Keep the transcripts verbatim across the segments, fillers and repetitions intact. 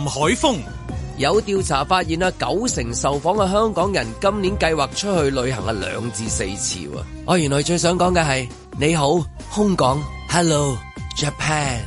海峰。 有調查發現啊，九成受訪嘅香港人今年計劃出去旅行啊兩至四次喎。我原來最想講嘅係你好香港 ，Hello Japan。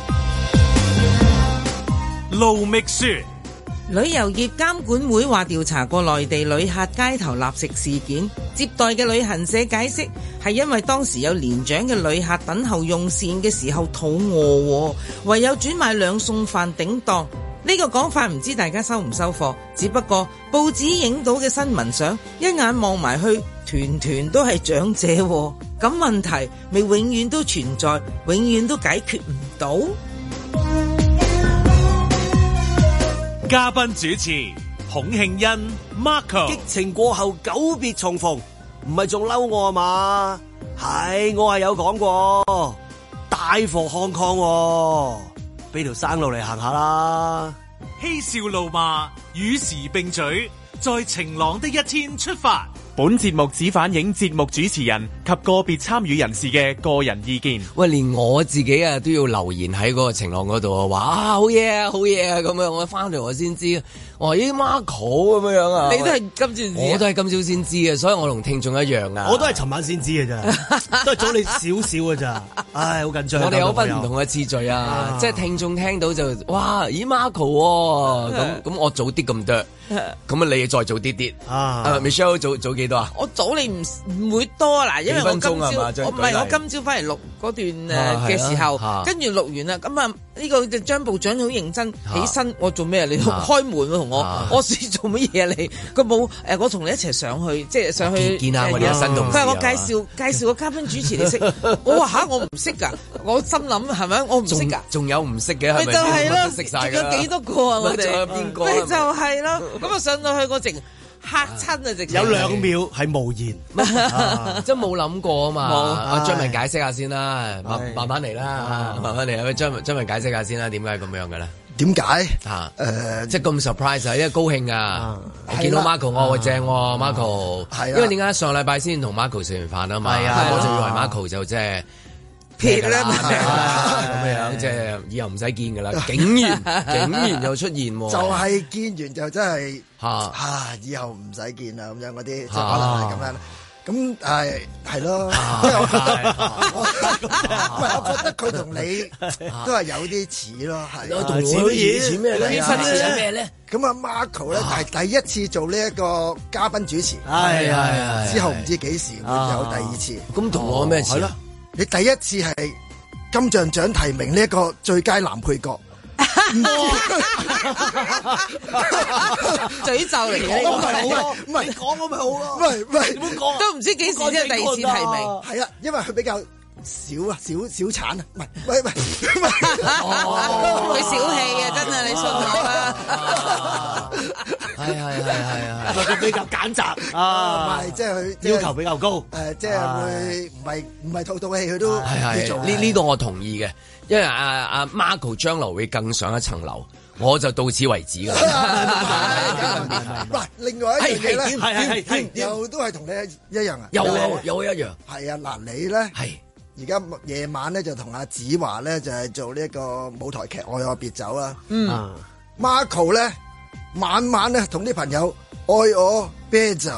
盧覓雪。 旅遊業監管會話調查過內地旅客街頭立食事件，接待嘅旅行社解釋係因為當時有年長嘅旅客等候用膳嘅時候肚餓，唯有轉買兩餸飯頂檔。呢個講法唔知大家收唔收貨，只不過報紙影到嘅新聞相一眼望埋去，團團都係長者，咁問題咪永遠都存在，永遠都解決唔到。 嘉賓主持孔慶欣 Marco。 激情過後久別重逢，唔係仲嬲我啊嘛？係我係有講過大貨康康，俾條生路嚟行下啦。 嬉笑怒罵與時並舉，在晴朗的一天出發。 本節目只反映節目主持人及個別參與人士嘅個人意見。 喂，連我自己啊都要留言喺嗰個晴朗嗰度啊，話啊好嘢啊好嘢啊咁樣，我翻嚟我先知，我話咦 Marco 咁樣啊， 你都係今朝知， 我都係今朝先知嘅，所以我同聽眾一樣啊。 我都係尋晚先知嘅咋，都係早你少少嘅咋。唉，好緊張。 我哋有分唔同嘅次序啊，啊即係聽眾聽到就哇咦 Marco 咁咁，我早啲咁多。咁啊，你再早啲啲啊 ？Michelle 早早幾多啊？ 我早你唔唔會多嗱，因為我今朝我唔係我今朝翻嚟錄嗰段誒嘅時候，跟住錄完啦，咁啊呢個張部長好認真起身，我做咩啊？你開門同我，我試做乜嘢啊？你佢冇誒，我同你一齊上去，即係上去見下我哋新同事。 佢話我介紹介紹個嘉賓主持你識，我話吓我唔識㗎，我心諗係咪我唔識㗎？ 仲有唔識嘅係咪？ 咪就係咯， 識晒仲有幾多個啊？我哋仲有邊個？ 咪就係咯。咁啊上到去個直嚇親啊！直有兩秒係無言， 即係冇諗過啊嘛。阿張文解釋下先啦，慢慢慢嚟啦，慢慢嚟啊！張張文解釋下先啦，點解咁樣嘅咧？ 點解嚇？誒，即係咁 surprise 啊！因為高興啊！我見到 Marco 我話正喎 Marco，因為點解上禮拜先同 Marco 食完飯啊嘛？我就以為 Marco 就即係。撇啦咁樣，即係以後唔使見噶啦，竟然竟然又出現，就係見完就真係吓啊！以後唔使見啦，咁樣嗰啲，即係可能係咁樣。咁誒係咯，因為我覺得，唔係我覺得佢同你都係有啲似咯，係。 同我似咩咧？似咩咧？ 咁啊 Marco 咧，係第一次做呢一個嘉賓主持， 係係之後唔知幾時會有第二次。 咁同我咩似？ 你第一次係金像獎提名呢一個最佳男配角， 詛咒嚟嘅， 唔係唔係講咁咪好咯， 唔係唔係， 都唔知幾時先係第二次提名， 係啊，因為佢比較少啊，少少產啊，唔係唔係唔係， 佢小氣啊，真係你信我啦， 係係係係係， 佢比較揀擇啊， 唔係即係佢要求比較高， 誒即係會唔係唔係套套戲佢都係係呢呢個我同意嘅，因為阿阿 Marco 將來會更上一層樓，我就到此為止㗎啦。 嗱，另外一樣嘢咧， 係係係又都係同你一樣啊， 有有一樣， 係啊，嗱你咧係。而家夜晚咧就同阿子華咧就係、是、做呢一個舞台劇《愛我別走》啦。嗯 ，Marco 咧晚晚咧同啲朋友愛我啤酒。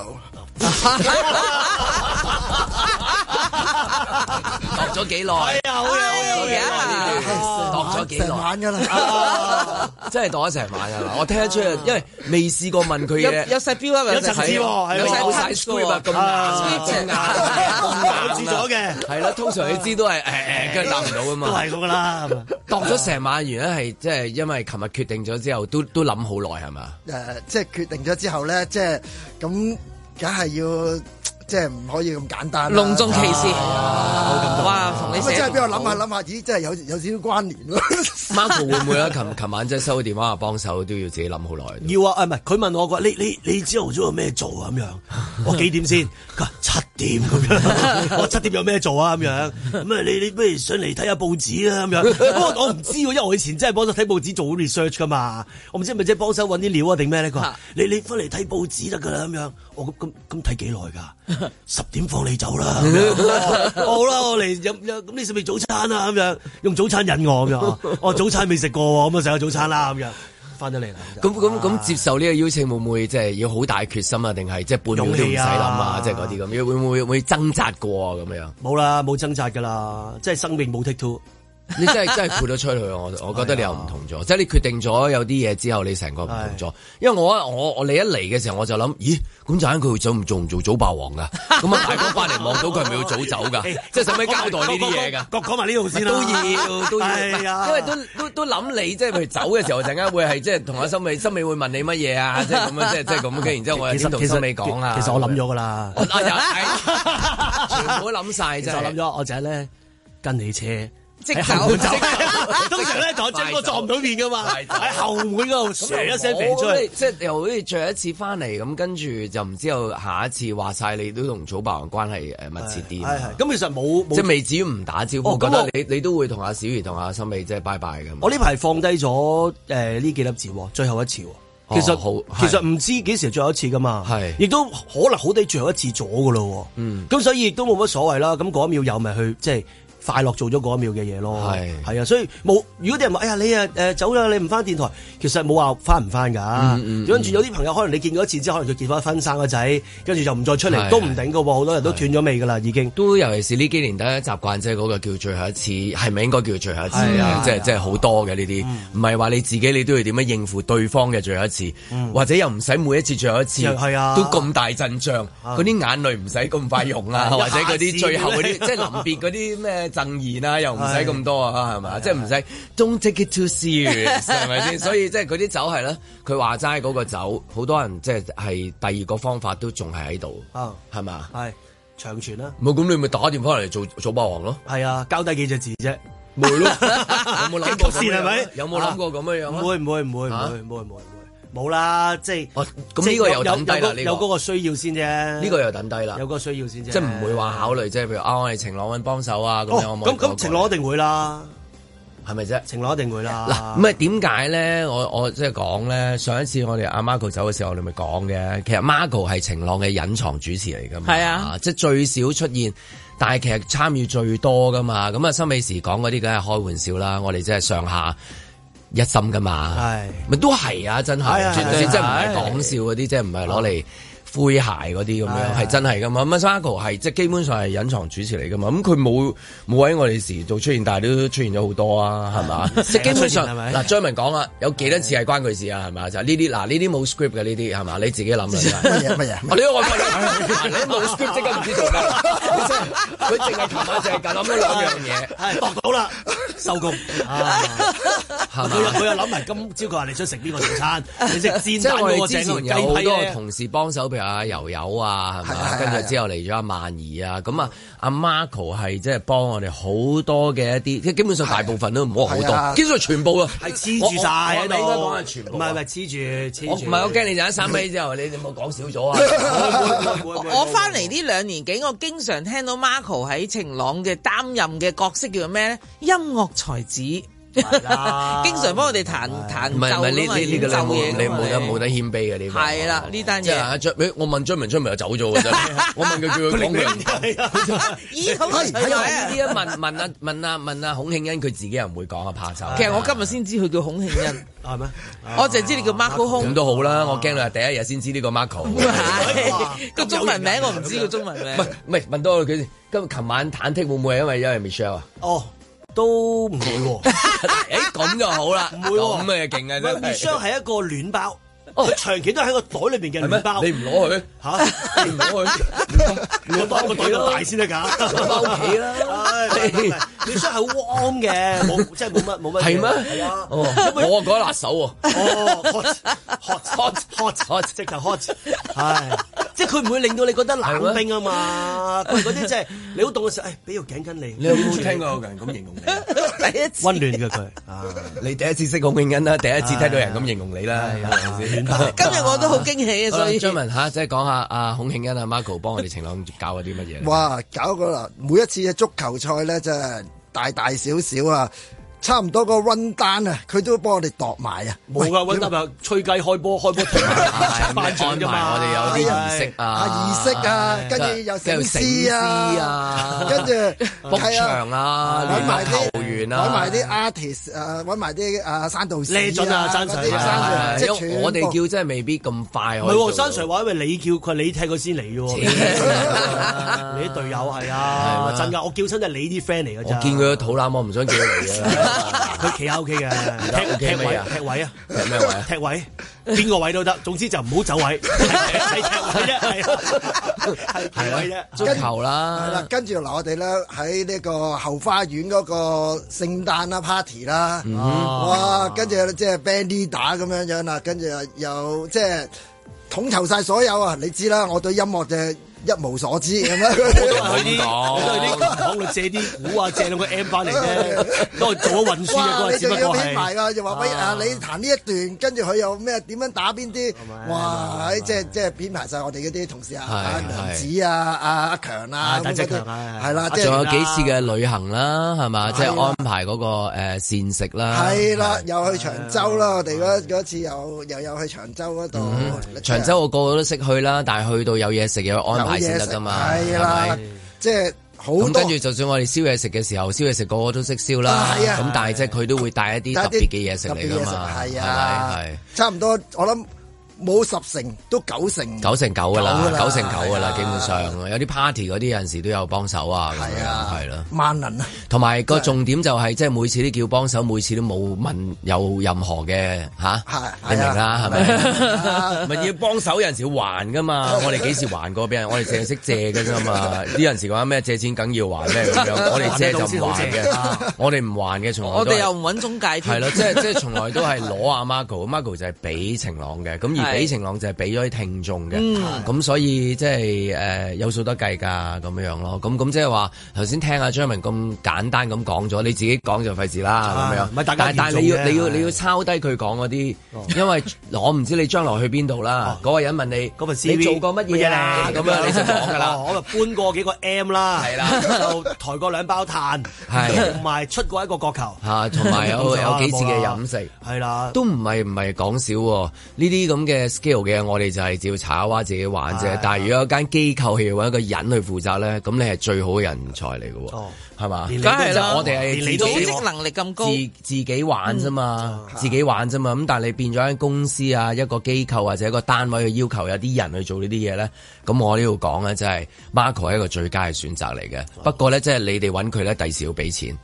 度咗幾耐？ 係啊，好嘢，好嘢，度咗幾耐？ 成晚㗎啦， 真係度咗成晚㗎啦！我聽得出，因為未試過問佢嘅， 有細標啊， 有層次喎， 有晒 script 啊，咁硬， 咁硬，住咗嘅， 係啦。通常你知都係誒誒，跟住答唔到㗎嘛， 都係咁㗎啦。 度咗成晚，原來係即係因為琴日決定咗之後，都都諗好耐係嘛？ 誒，即係決定咗之後咧，即係咁，梗係要。即係唔可以咁簡單， 隆重其事。哇，同你咁啊，真係俾我諗下諗下，咦，真係有有少少關聯咯。 Marco 會唔會啊？琴琴晚即係收電話幫手，都要自己諗好耐。 要啊，唔係佢問我話，你你你朝頭早有咩做啊？咁樣，我幾點先？佢話七點咁樣。我七點有咩做啊？咁樣咁啊，你你不如上嚟睇下報紙啊？咁樣。不過我唔知喎，因為我以前真係幫手睇報紙做 research 噶嘛。我唔知係咪即係幫手揾啲料啊定咩咧？佢話你你翻嚟睇報紙得㗎啦咁樣。我咁咁咁睇幾耐㗎？十點放你走啦，好啦，我嚟飲飲，咁你食唔食早餐啊？咁樣用早餐引我咁樣，我早餐未食過，咁啊食下早餐啦咁樣。 翻咗嚟啦。 咁咁咁接受呢個邀請會唔會即係要好大決心啊？定係即係半秒都唔使諗啊？即係嗰啲咁，會唔會會掙扎過啊？咁樣冇啦，冇掙扎噶啦，即係生命冇 take two。 你真係真係豁得出去，我我覺得你又唔同咗，即係你決定咗有啲嘢之後，你成個唔同咗。因為我我我你一嚟嘅時候，我就諗，咦，咁陣間佢做唔做唔做早霸王噶？咁啊，大哥翻嚟望到佢係咪要早走噶？即係使唔使交代呢啲嘢噶？ 講講埋呢度先啦， 都要都要，因為都都都諗你，即係譬如走嘅時候，陣間會係即係同阿森美，森美會問你乜嘢啊？即係咁樣，即係即係咁嘅。然之後我先同森美講啊。 其實我諗咗噶啦， 全部都諗晒。 其實我諗咗，我就係咧跟你車。 即走， 通常咧同張哥撞唔到面噶嘛，喺後門嗰度唰一聲飛出去， 即係又好似最一次翻嚟咁，跟住就唔知道下一次話晒你都同祖白王關係誒密切啲。係係，咁其實冇即係未至於唔打招呼，我覺得你你都會同阿小儀同阿森美即係拜拜咁。 我呢排放低咗誒呢幾粒字，最後一次。其實好，其實唔知幾時最後一次噶嘛，係，亦都可能好地最後一次咗噶咯。嗯，咁所以亦都冇乜所謂啦。咁嗰一秒有咪去即係。快樂做咗嗰一秒嘅嘢咯，係係啊，所以冇。如果啲人話，哎呀你啊誒走啦，你唔翻電台，其實冇話翻唔翻噶。跟住有啲朋友可能你見過一次之後，可能佢結咗婚生個仔，跟住就唔再出嚟，都唔頂噶喎。好多人都斷咗尾噶啦，已經。都尤其是呢幾年大家習慣即係嗰個叫最後一次，係咪應該叫最後一次啊？即係即係好多嘅呢啲，唔係話你自己你都要點樣應付對方嘅最後一次，或者又唔使每一次最後一次，係啊，都咁大陣仗，嗰啲眼淚唔使咁快用啊，或者嗰啲最後嗰啲即係臨別嗰啲咩。贈言啊，又唔使咁多啊，係咪？即係唔使 Don't take it too serious， 係咪先？所以即係嗰啲酒係咧，佢話齋嗰個酒，好多人即係係第二個方法都仲係喺度，係咪？係長存啦。冇咁你咪打電話嚟做做霸王咯。係啊，交低幾隻字啫，冇咯。有冇諗過先係咪？有冇諗過咁樣樣？唔會唔會唔會唔會唔會唔會。冇啦，即係咁呢個又等低啦，有嗰個需要先啫。呢個又等低啦，有嗰個需要先啫。即係唔會話考慮，即係譬如啊，我哋晴朗揾幫手啊咁樣。咁咁晴朗一定會啦，係咪啫？晴朗一定會啦。嗱，咁啊點解咧？我我即係講咧，上一次我哋阿 Marco 走嘅時候，我哋咪講嘅。其實 Marco 係晴朗嘅隱藏主持嚟㗎嘛。係啊，即係最少出現，但係其實參與最多㗎嘛。咁啊，森美時講嗰啲梗係開玩笑啦。我哋即係上下一心噶嘛，係咪都係啊？真係，絕對真唔係講笑嗰啲，即係唔係攞嚟詼諧嗰啲咁樣，係真係噶嘛。咁 Marco 係即係基本上係隱藏主持嚟噶嘛。咁佢冇冇喺我哋時做出現，但係都出現咗好多啊，係嘛？即係基本上嗱，張文講啦，有幾多次係關佢事啊？係嘛？就呢啲嗱，呢啲冇 script 嘅呢啲係嘛？你自己諗啦。乜嘢乜嘢？我呢個你冇 script 即刻唔知做咩。佢淨係琴晚淨係諗咗兩樣嘢，度到啦，收工。佢又佢又諗埋今朝佢話你想食邊個早餐，你食煎蛋嗰個正雞批咧。有好多同事幫手，譬如阿柔柔啊，係咪？跟住之後嚟咗阿曼儀啊，咁啊阿 Marco 係即係幫我哋好多嘅一啲，即係基本上大部分都唔好好多，基本上全部啊，係黐住晒喺度。應該講係全部，唔係唔係黐住黐住。唔係我驚你陣間三尾之後，你哋冇講少咗啊！ 我翻嚟呢兩年幾，我經常聽到 Marco 喺晴朗嘅擔任嘅角色叫做咩咧？音樂才子。經常幫我哋彈彈奏啊嘛，演奏嘢，你冇得冇得謙卑嘅呢個。係啦，呢單嘢。即係阿張，我問張明，張明就走咗嘅啫。我問佢叫佢講嘅。咦，好奇怪啊！呢啲問問啊問啊問啊孔慶恩，佢自己又唔會講啊，怕醜。其實我今日先知佢叫孔慶恩，係咩？我淨係知你叫 Marco 空。咁都好啦，我驚你係第一日先知呢個 Marco。個中文名我唔知個中文名。唔係唔係，問多佢先。今日琴晚忐忑會唔會係因為因為 Michelle 啊？哦。都唔會喎，誒咁就好啦，唔會喎，咁誒勁啊真係。Michelle係一個暖包，佢長期都喺個袋裏邊嘅暖包，你唔攞佢嚇？你唔攞佢，你攞個袋咁大先得㗎，翻屋企啦。Michelle 係好 warm 嘅，冇即係冇乜冇乜。係咩？係啊，我覺得辣手喎。哦 hot hot hot hot 直頭 hot，係。即係佢唔會令到你覺得冷冰啊嘛，佢嗰啲即係你好凍嘅時候，誒俾條頸巾你。你有冇聽過有人咁形容你？第一次溫暖嘅佢，你第一次識孔慶恩啦，第一次聽到人咁形容你啦，今日我都好驚喜啊！所以張文嚇，即係講下阿孔慶恩阿 Marco 幫我哋晴朗搞咗啲乜嘢？哇！搞過啦，每一次嘅足球賽咧，真係大大小小啊！ 差唔多個 run down 啊，佢都幫我哋度埋啊！ 冇噶 run down 啊，吹雞開波開波停頒獎啫嘛， 我哋有啲儀式啊， 儀式啊，跟住又醒獅啊，跟住 book 場啊， 揾埋啲球員啊， 揾埋啲 artist 誒，揾埋啲誒山道士叻準啊，山 Sir， 即係全我哋叫真係未必咁快。 唔係喎，山 Sir 話因為你叫佢，你踢佢先嚟嘅喎。你啲隊友係啊，真㗎，我叫親就係你啲 friend 嚟㗎咋。 我見佢個肚腩，我唔想叫佢嚟啊。 佢企喺 O K 嘅，踢踢位踢位啊， 踢咩位啊？ 踢位，邊個位都得，總之就唔好走位，係踢位啫，係係位啫。 足球啦， 係啦，跟住嗱，我哋咧喺呢個後花園嗰個聖誕啦 party 啦，哇，跟住即係 band leader 咁樣樣啦，跟住又即係統籌晒所有啊！你知啦，我對音樂就一無所知咁樣， 我都係去啲，我都係啲行度借啲鼓啊，借兩個 M 翻嚟啫，都係做咗運輸啊，嗰個只不過係。哇！你仲要編埋㗎，又話喂啊，你彈呢一段，跟住佢又咩點樣打邊啲？哇！即係即係編排晒我哋嗰啲同事啊，阿梁子啊，阿阿強啊， 大隻強啊， 係啦， 仲有幾次嘅旅行啦，係嘛？即係安排嗰個誒膳食啦。 係啦，又去長洲啦，我哋嗰嗰次又又有去長洲嗰度。 長洲我個個都識去啦，但係去到有嘢食又安排先得㗎嘛， 係啦，即係好多。 咁跟住就算我哋燒嘢食嘅時候，燒嘢食個個都識燒啦。咁但係即係佢都會帶一啲特別嘅嘢食嚟㗎嘛。係啊，係差唔多我諗。冇十成都九成， 九成九噶啦，九成九噶啦，基本上有啲 party 嗰啲有陣時都有幫手啊，咁樣係啦， 萬能啊！ 同埋個重點就係即係每次都叫幫手，每次都冇問有任何嘅吓，你明啦係咪？咪要幫手有陣時要還噶嘛，我哋幾時還過俾人？我哋淨係識借噶啫嘛，啲人時講咩借錢梗要還咩咁樣，我哋借就唔還嘅，我哋唔還嘅，從來我哋又唔揾中介添， 係咯，即係即係從來都係攞阿 Marco，Marco 就係俾晴朗嘅，咁而。俾晴朗就係俾咗啲聽眾嘅，咁、嗯、所以即係誒有數得計㗎咁樣咯。咁咁即係話頭先聽阿張文咁簡單咁講咗，你自己講就費事啦咁樣。唔係，但但係你要你要你要抄低佢講嗰啲，哦、因為我唔知你將來去邊度啦。嗰、哦、個人問你嗰份 C V 你做過乜嘢啊？咁樣你就講㗎啦。我就搬過幾個 M 啦，係啦，就抬過兩包炭，係同埋出過一個角球，嚇，同埋有有幾次嘅飲食，係啦，都唔係唔係講少喎。呢啲咁嘅 scale 嘅，我哋就係照查下自己玩啫。的但係如果有間機構係要揾一個人去負責咧，咁你係最好嘅人才嚟嘅喎，係嘛、哦？梗係啦，我哋係自己組織能力咁高，自自己玩啫嘛，嗯、自己玩啫嘛。咁但係你變咗間公司啊，一個機構或者一個單位去要求有啲人去做呢啲嘢咧，咁我呢度講咧，即係 Marco 係一個最佳嘅選擇嚟嘅。哦、不過咧，即係你哋揾佢咧，第時要俾錢。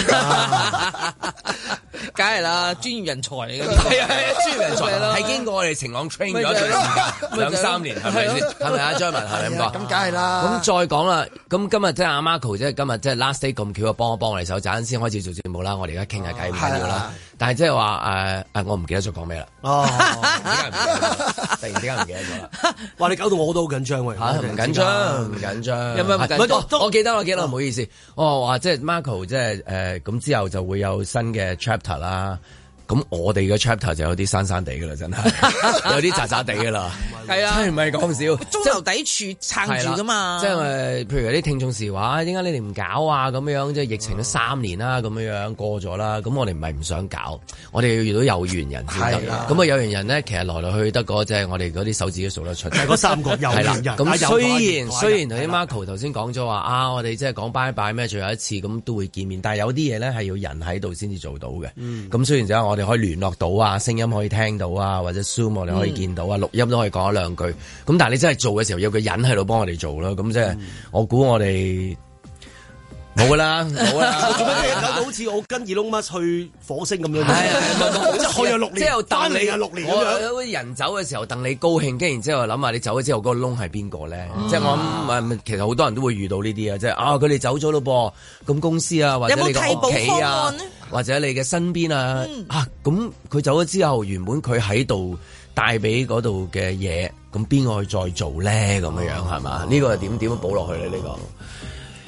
梗係啦，專業人才嚟嘅， 係啊，專業人才係經過我哋晴朗 train 咗一段時間，兩三年係咪先？係咪啊，張文係咪咁講？ 咁梗係啦。咁再講啦，咁今日即係阿 Marco 即係今日即係 last day 咁巧啊，幫一幫我哋手，陣間先開始做節目啦。我哋而家傾下偈唔緊要啦。但係即係話誒誒，我唔記得咗講咩啦。哦，突然之間唔記得咗啦。哇！你搞到我都好緊張喎。嚇，唔緊張，唔緊張。有咩唔緊張？我記得，我記得，唔好意思。我話即係 Marco 即係誒咁之後就會有新嘅 chapter 啦。咁我哋嘅 chapter 就有啲山山地噶啦，真係有啲渣渣地噶啦，係啊，真係唔係講笑， 中流砥柱撐住噶嘛。 即係誒，譬如有啲聽眾時話，點解你哋唔搞啊？咁樣即係疫情都三年啦，咁樣樣過咗啦。咁我哋唔係唔想搞，我哋要遇到有緣人先得。咁啊有緣人咧，其實來來去去得嗰即係我哋嗰啲手指都數得出。係嗰三個有緣人。咁雖然雖然頭先 Marco 頭先講咗話啊，我哋即係講拜拜咩，最後一次咁都會見面，但係有啲嘢咧係要人喺度先至做到嘅。咁雖然就我哋可以聯絡到啊，聲音可以聽到啊，或者 Zoom 我哋可以見到啊，錄音都可以講一兩句。咁但係你真係做嘅時候，有個人喺度幫我哋做咯。咁即係我估我哋冇噶啦，冇啦。做乜嘢搞到好似我跟二窿乜去火星咁樣？係啊，即係去咗六年，即係又等你啊六年咁樣。有啲人走嘅時候，等你高興，跟住然之後諗下你走咗之後嗰個窿係邊個咧？即係我諗，其實好多人都會遇到呢啲啊，即係啊佢哋走咗咯噃，咁公司啊或者你個屋企啊。或者你嘅身邊啊，嗯、啊咁佢走咗之後，原本佢喺度帶俾嗰度嘅嘢，咁邊個去再做咧？咁樣樣係嘛？呢、哦、個係點點樣補落去咧？呢、呢個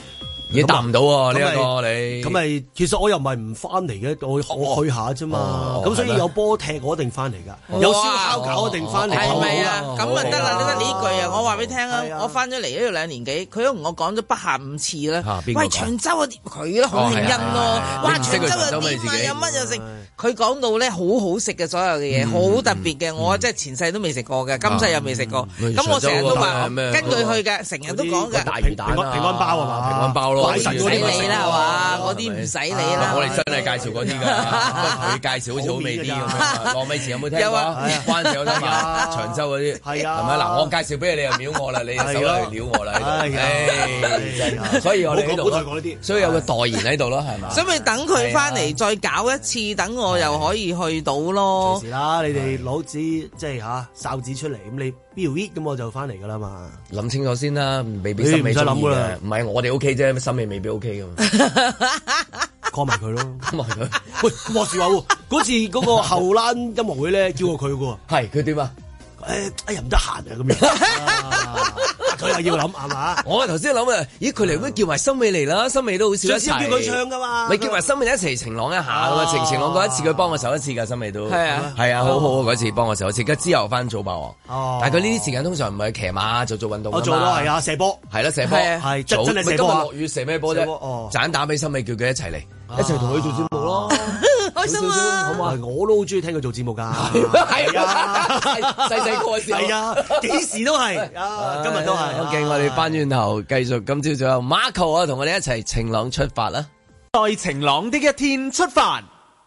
已經答唔到喎呢一個你。 咁咪其實我又唔係唔翻嚟嘅，我我去下啫嘛。咁所以有波踢我一定翻嚟㗎，有燒烤搞我一定翻嚟。 係咪啊？咁啊得啦，你得呢句啊！我話俾你聽啊，我翻咗嚟呢度兩年幾，佢都同我講咗不下五次啦。喂，長洲啊，佢咯，洪慶欣咯，哇，長洲啊點啊，有乜又食？佢講到咧好好食嘅所有嘅嘢，好特別嘅，我真係前世都未食過嘅，今世又未食過。咁我成日都話跟佢去嘅，成日都講嘅。 大魚蛋啊， 平安包啊嘛，平安包咯， 唔使你啦係嘛，嗰啲唔使你啦。 我哋真係介紹嗰啲㗎，佢介紹好似好味啲咁樣。羅美慈有冇聽過？關少有聽過？長洲嗰啲係啊，係咪嗱？我介紹俾你，你又秒我啦，你又手嚟撩我啦，唉，所以我哋喺度，所以有個代言喺度咯，係嘛？所以咪等佢翻嚟再搞一次，等我又可以去到咯。 隨時啦，你哋攞紙即係嚇哨紙出嚟，咁你標 hit 咁我就翻嚟㗎啦嘛。 諗清楚先啦，未必心美中意嘅。唔係我哋 OK 啫，心美未必 OK 㗎嘛。 call 埋佢咯 call 埋佢。 喂，話時話喎，嗰次嗰個後欄音樂會咧，叫過佢喎。 係佢點啊？ 誒，哎呀唔得閒啊咁樣，佢又要諗係嘛？ 我頭先諗啊，咦佢嚟會叫埋森美嚟啦，森美都好少一齊。 叫佢唱噶嘛？ 咪叫埋森美一齊晴朗一下噶嘛？晴晴朗嗰一次佢幫我手一次噶，森美都係啊係啊，好好嗰次幫我手一次，跟之後翻早霸王。哦，但係佢呢啲時間通常唔係騎馬就做運動。我做咯係啊，射波係啦射波係真真係射波。今日落雨射咩波啫？哦，盞打俾森美，叫佢一齊嚟，一齊同佢做節目咯。開心啊！好嘛，我都好中意聽佢做節目噶，係啊，細細個嘅時候，係啊，幾時都係啊，今日都係。OK，我哋翻轉頭繼續，今朝早有 Marco 啊，同我哋一齊晴朗出發啦！ 在晴朗的一天出發。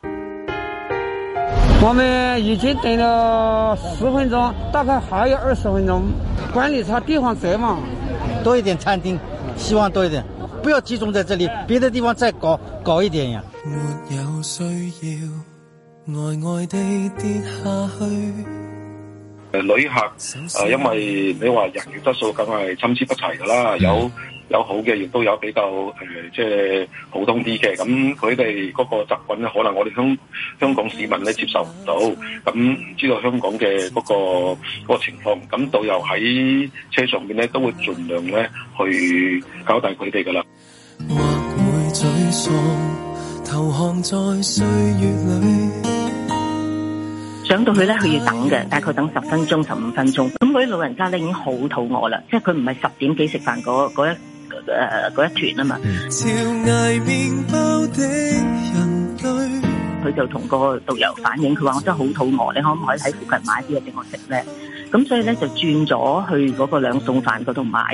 我們已經等了十分鐘，大概還有二十分鐘。管理層地方窄嘛， 多一點餐廳，希望多一點。不要集中在這裡，別的地方再搞搞一點呀。沒有需要呆呆地跌下去。 誒旅客誒、呃，因為你話人員質素梗係參差不齊㗎啦，有有好嘅，亦都有比較誒、呃，即係普通啲嘅。咁佢哋嗰個習慣咧，可能我哋香香港市民咧接受唔到。咁唔知道香港嘅嗰、嗰個嗰個情況，咁導遊喺車上邊咧都會盡量咧去交代佢哋㗎啦。或會沮喪，投降在歲月裡。上到去咧，佢要等嘅，大概等十分鐘、十五分鐘。咁嗰啲老人家咧已經好肚餓啦，即係佢唔係十點幾食飯嗰嗰一誒嗰、呃、一團啊嘛。佢就同個導遊反映，佢話我真係好肚餓，你可唔可以喺附近買啲嘢俾我食咧？咁所以咧就轉咗去嗰個兩餸飯嗰度買。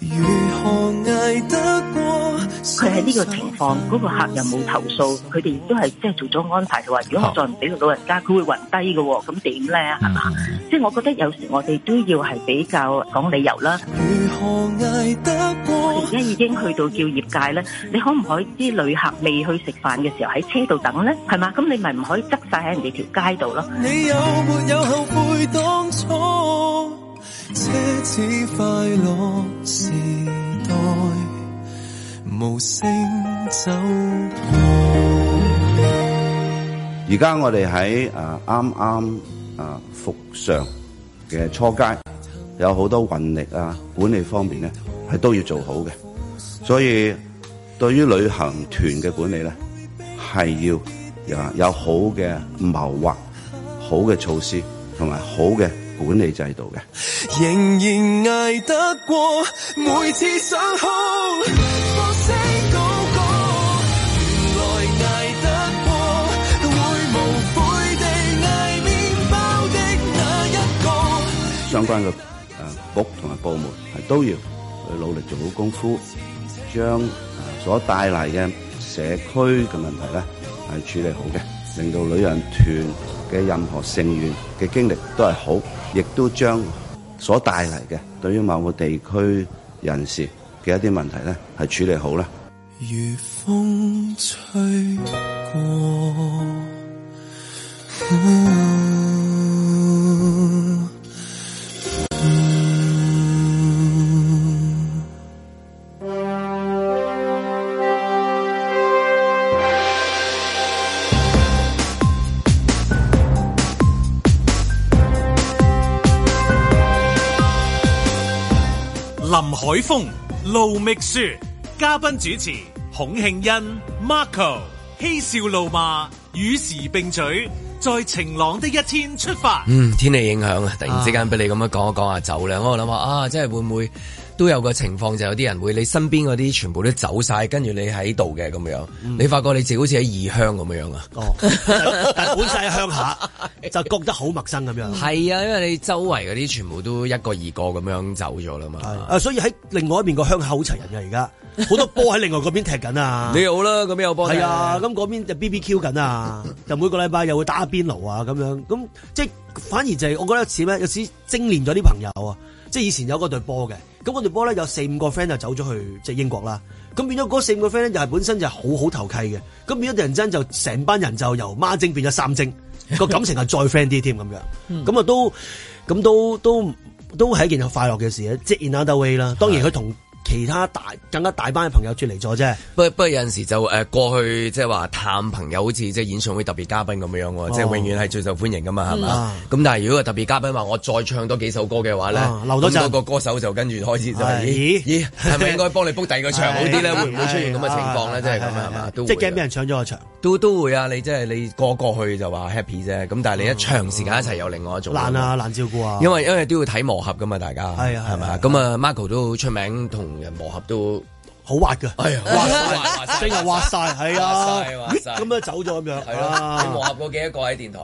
佢喺呢個情況，嗰、那個客又冇投訴，佢哋亦都係即係做咗安排，就話如果我再唔俾個老人家，佢會暈低嘅喎，咁點咧？係嘛？即係我覺得有時我哋都要係比較講理由啦。我哋而家已經去到叫業界咧，你可唔可以啲旅客未去食飯嘅時候喺車度等咧？係嘛？咁你咪唔可以執晒喺人哋條街度咯。你有沒有後悔當初奢侈快樂時代無聲走過？ 而家我哋喺誒啱啱誒復常嘅初階，有好多運力啊管理方面咧係都要做好嘅，所以對於旅行團嘅管理咧係要有有好嘅謀劃、好嘅措施同埋好嘅管理制度嘅。仍然捱得過每次想哭，放聲講過，原來捱得過，會無悔地捱麵包的那一個。相關嘅誒局同埋部門係都要去努力做好功夫，將誒所帶嚟嘅社區嘅問題咧係處理好嘅，令到旅行團嘅任何成員嘅經歷都係好，亦都將所帶嚟嘅對於某個地區人士嘅一啲問題咧係處理好啦。如風吹過， 林海峰、盧覓雪， 嘉賓主持孔慶欣 Marco 嬉笑怒罵與時並舉，在晴朗的一天出發。 嗯，天氣影響啊，突然之間俾你咁樣講一講下走咧，我諗下啊，即係會唔會都有個情況，就有啲人會你身邊嗰啲全部都走晒，跟住你喺度嘅咁樣，嗯、你發覺你自己好似喺異鄉咁樣啊。哦， 但係本身喺鄉下就覺得好陌生咁樣。係啊，因為你周圍嗰啲全部都一個二個咁樣走咗啦嘛。 啊，所以喺另外一邊個鄉下好齊人嘅而家。好多波喺另外嗰邊踢緊啊！ 你好啦，咁邊有波？ 係啊，咁嗰邊就 B B Q 緊啊，就每個禮拜又會打邊爐啊，咁樣咁即係反而就係、是、我覺得似咩？有時精練咗啲朋友啊，即係以前有嗰隊波嘅，咁嗰隊波咧有四五個 friend 就走咗去即係英國啦，咁變咗嗰四五個 friend 咧又係本身就係好好投契嘅，咁變咗突然間就成班人就由孖精變咗三精，個感情係再 friend 啲添咁樣，咁啊都咁都都都係一件快樂嘅事啊！即係 in another way 啦，當然佢同其他大更加大班嘅朋友脫離咗啫， 不不過有陣時就誒過去即係話探朋友，好似即係演唱會特別嘉賓咁樣喎，哦、即係永遠係最受歡迎噶嘛，係嘛？咁但係如果個特別嘉賓話我再唱多幾首歌嘅話咧，留多陣個歌手就跟住開始就係咦咦係咪應該幫你 book 第二個場好啲咧？會唔會出現咁嘅情況咧？即係咁係嘛？ 即係驚俾人搶咗個場， 都都會啊！你即係你過過去就話 happy 啫，咁但係你一長時間一齊有另外一種難啊難照顧啊， 因為因為都要睇磨合噶嘛，大家係啊係咪？咁啊 Marco 都出名同人磨合都好滑㗎， 係啊， 滑晒，真係滑晒，係啊，咁樣走咗咁樣， 係咯。你磨合過幾多個喺電台？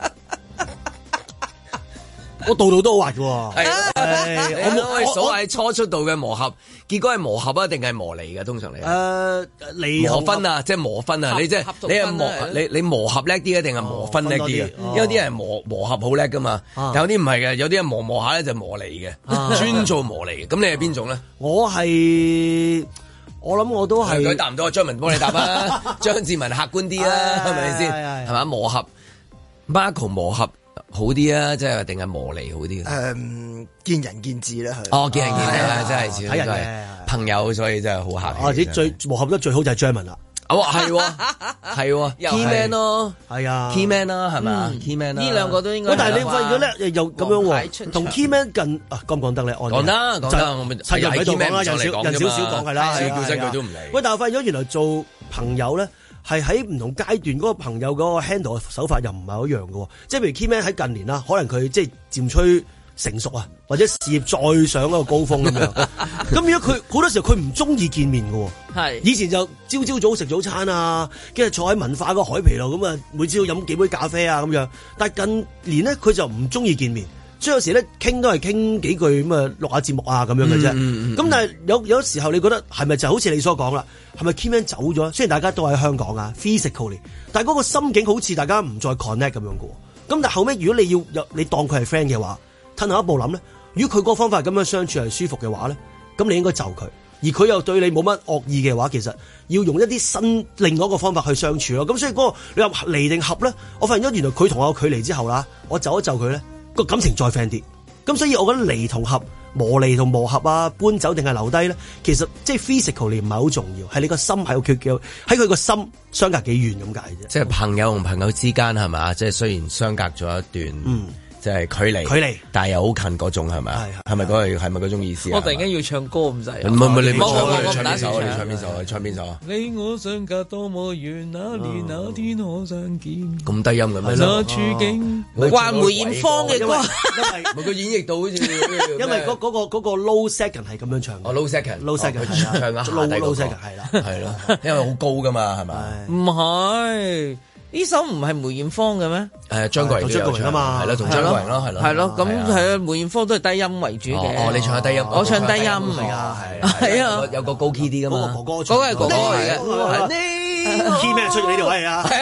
我度度都好滑㗎喎。 係我我所謂初出道嘅磨合，結果係磨合啊，定係磨離嘅？通常嚟誒離磨分啊，即係磨分啊。你即係你係磨你你磨合叻啲啊，定係磨分叻啲啊？因為啲人磨磨合好叻㗎嘛，有啲唔係嘅，有啲人磨磨下咧就磨離嘅，專做磨離嘅。咁你係邊種咧？ 我係。我諗我都係佢答唔到，張文幫你答啦。張志文客觀啲啦，係咪先？係嘛磨合 ，Marco 磨合好啲啊，即係定係磨離好啲？ 誒，見仁見智啦， 係。哦，見仁見智啦，真係睇人嘅朋友，所以真係好客氣。 或者最磨合得最好就係張文啦。 哦，係係 Key Man 咯， 係啊 Key Man 啦，係咪 Key Man 啦， 呢兩個都應該。 但係你發現咗咧，又咁樣喎，同 Key Man 近啊，講唔講得咧？ 講得講得，我咪係人喺度講啦，人少人少少講係啦， 少叫聲佢都唔理。 喂，但係發現咗原來做朋友咧，係喺唔同階段嗰個朋友嗰個 handle 嘅手法又唔係好一樣嘅，即係譬如 Key Man 喺近年啦，可能佢即係漸趨成熟啊，或者事業再上一個高峰咁樣。咁如果佢好多時候佢唔中意見面嘅，係以前就朝朝早食早餐啊，跟住坐喺文化嗰個海皮度咁啊，每朝飲幾杯咖啡啊咁樣。但係近年咧，佢就唔中意見面，所以有時咧傾都係傾幾句咁啊，錄下節目啊咁樣嘅啫。咁、嗯嗯嗯、但係有有時候你覺得係咪就好似你所講啦？係咪 Keyman 走咗？雖然大家都喺香港啊 ，physically， 但係嗰個心境好似大家唔再 connect 咁樣嘅。咁但係後尾如果你要有你當佢係 friend 嘅話，褪後一步諗咧，如果佢嗰個方法咁樣相處係舒服嘅話咧，咁你應該就佢，而佢又對你冇乜惡意嘅話，其實要用一啲新另外一個方法去相處咯。咁所以嗰個你話離定合咧，我發現咗原來佢同我有距離之後啦，我就一就佢咧，個感情再 friend 啲。咁所以我覺得離同合、磨離同磨合啊，搬走定係留低咧，其實即係 physically 唔係好重要，係你個心喺個缺嘅，喺佢個心相隔幾遠咁解啫。 即係朋友同朋友之間係咪？即係雖然相隔咗一段。嗯即係距離，距離，但係又好近嗰種係咪啊？係咪嗰個係咪嗰種意思啊？ 我突然間要唱歌咁滯。 唔係唔係，你唱你唱邊首？你唱邊首？你唱邊首啊？ 你我相隔多麼遠，那年那天可相見。 咁低音嘅咩？ 那處境，話梅艷芳嘅歌， 因為佢演繹到好似， 因為嗰嗰個嗰個 low second 係咁樣唱。 哦 low second，low second 唱啊 ，low low second 係啦， 係咯，因為好高噶嘛，係咪？ 唔係。呢首唔係梅艷芳嘅咩？ 誒，張國榮都有唱啊嘛，係咯，同張國榮咯，係咯， 係咯，咁係啊，梅艷芳都係低音為主嘅。 哦，你唱下低音， 我唱低音， 係啊，係啊，有個高 key 啲噶嘛， 哥哥， 嗰個係哥哥嚟嘅。 呢 key 咩出咗呢條位啊？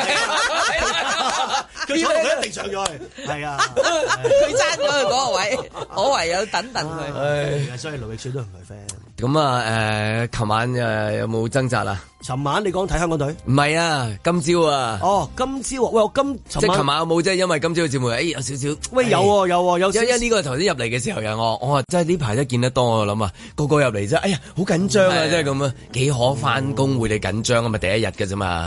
佢佢一定上咗去，係啊， 佢爭咗佢嗰個位，我唯有等等佢。 唉，所以盧覓雪都唔係 friend。 咁啊，誒，琴晚誒有冇掙扎啊？ 尋晚你講睇香港隊？ 唔係啊，今朝啊。 哦，今朝啊，喂，我今即係琴晚有冇即係因為今朝嘅節目，誒有少少。 喂，有喎有喎有。 因因呢個頭先入嚟嘅時候有我，我話真係呢排都見得多，我諗啊，個個入嚟啫，哎呀，好緊張啊，真係咁啊，幾可翻工會你緊張啊嘛，第一日嘅啫嘛，係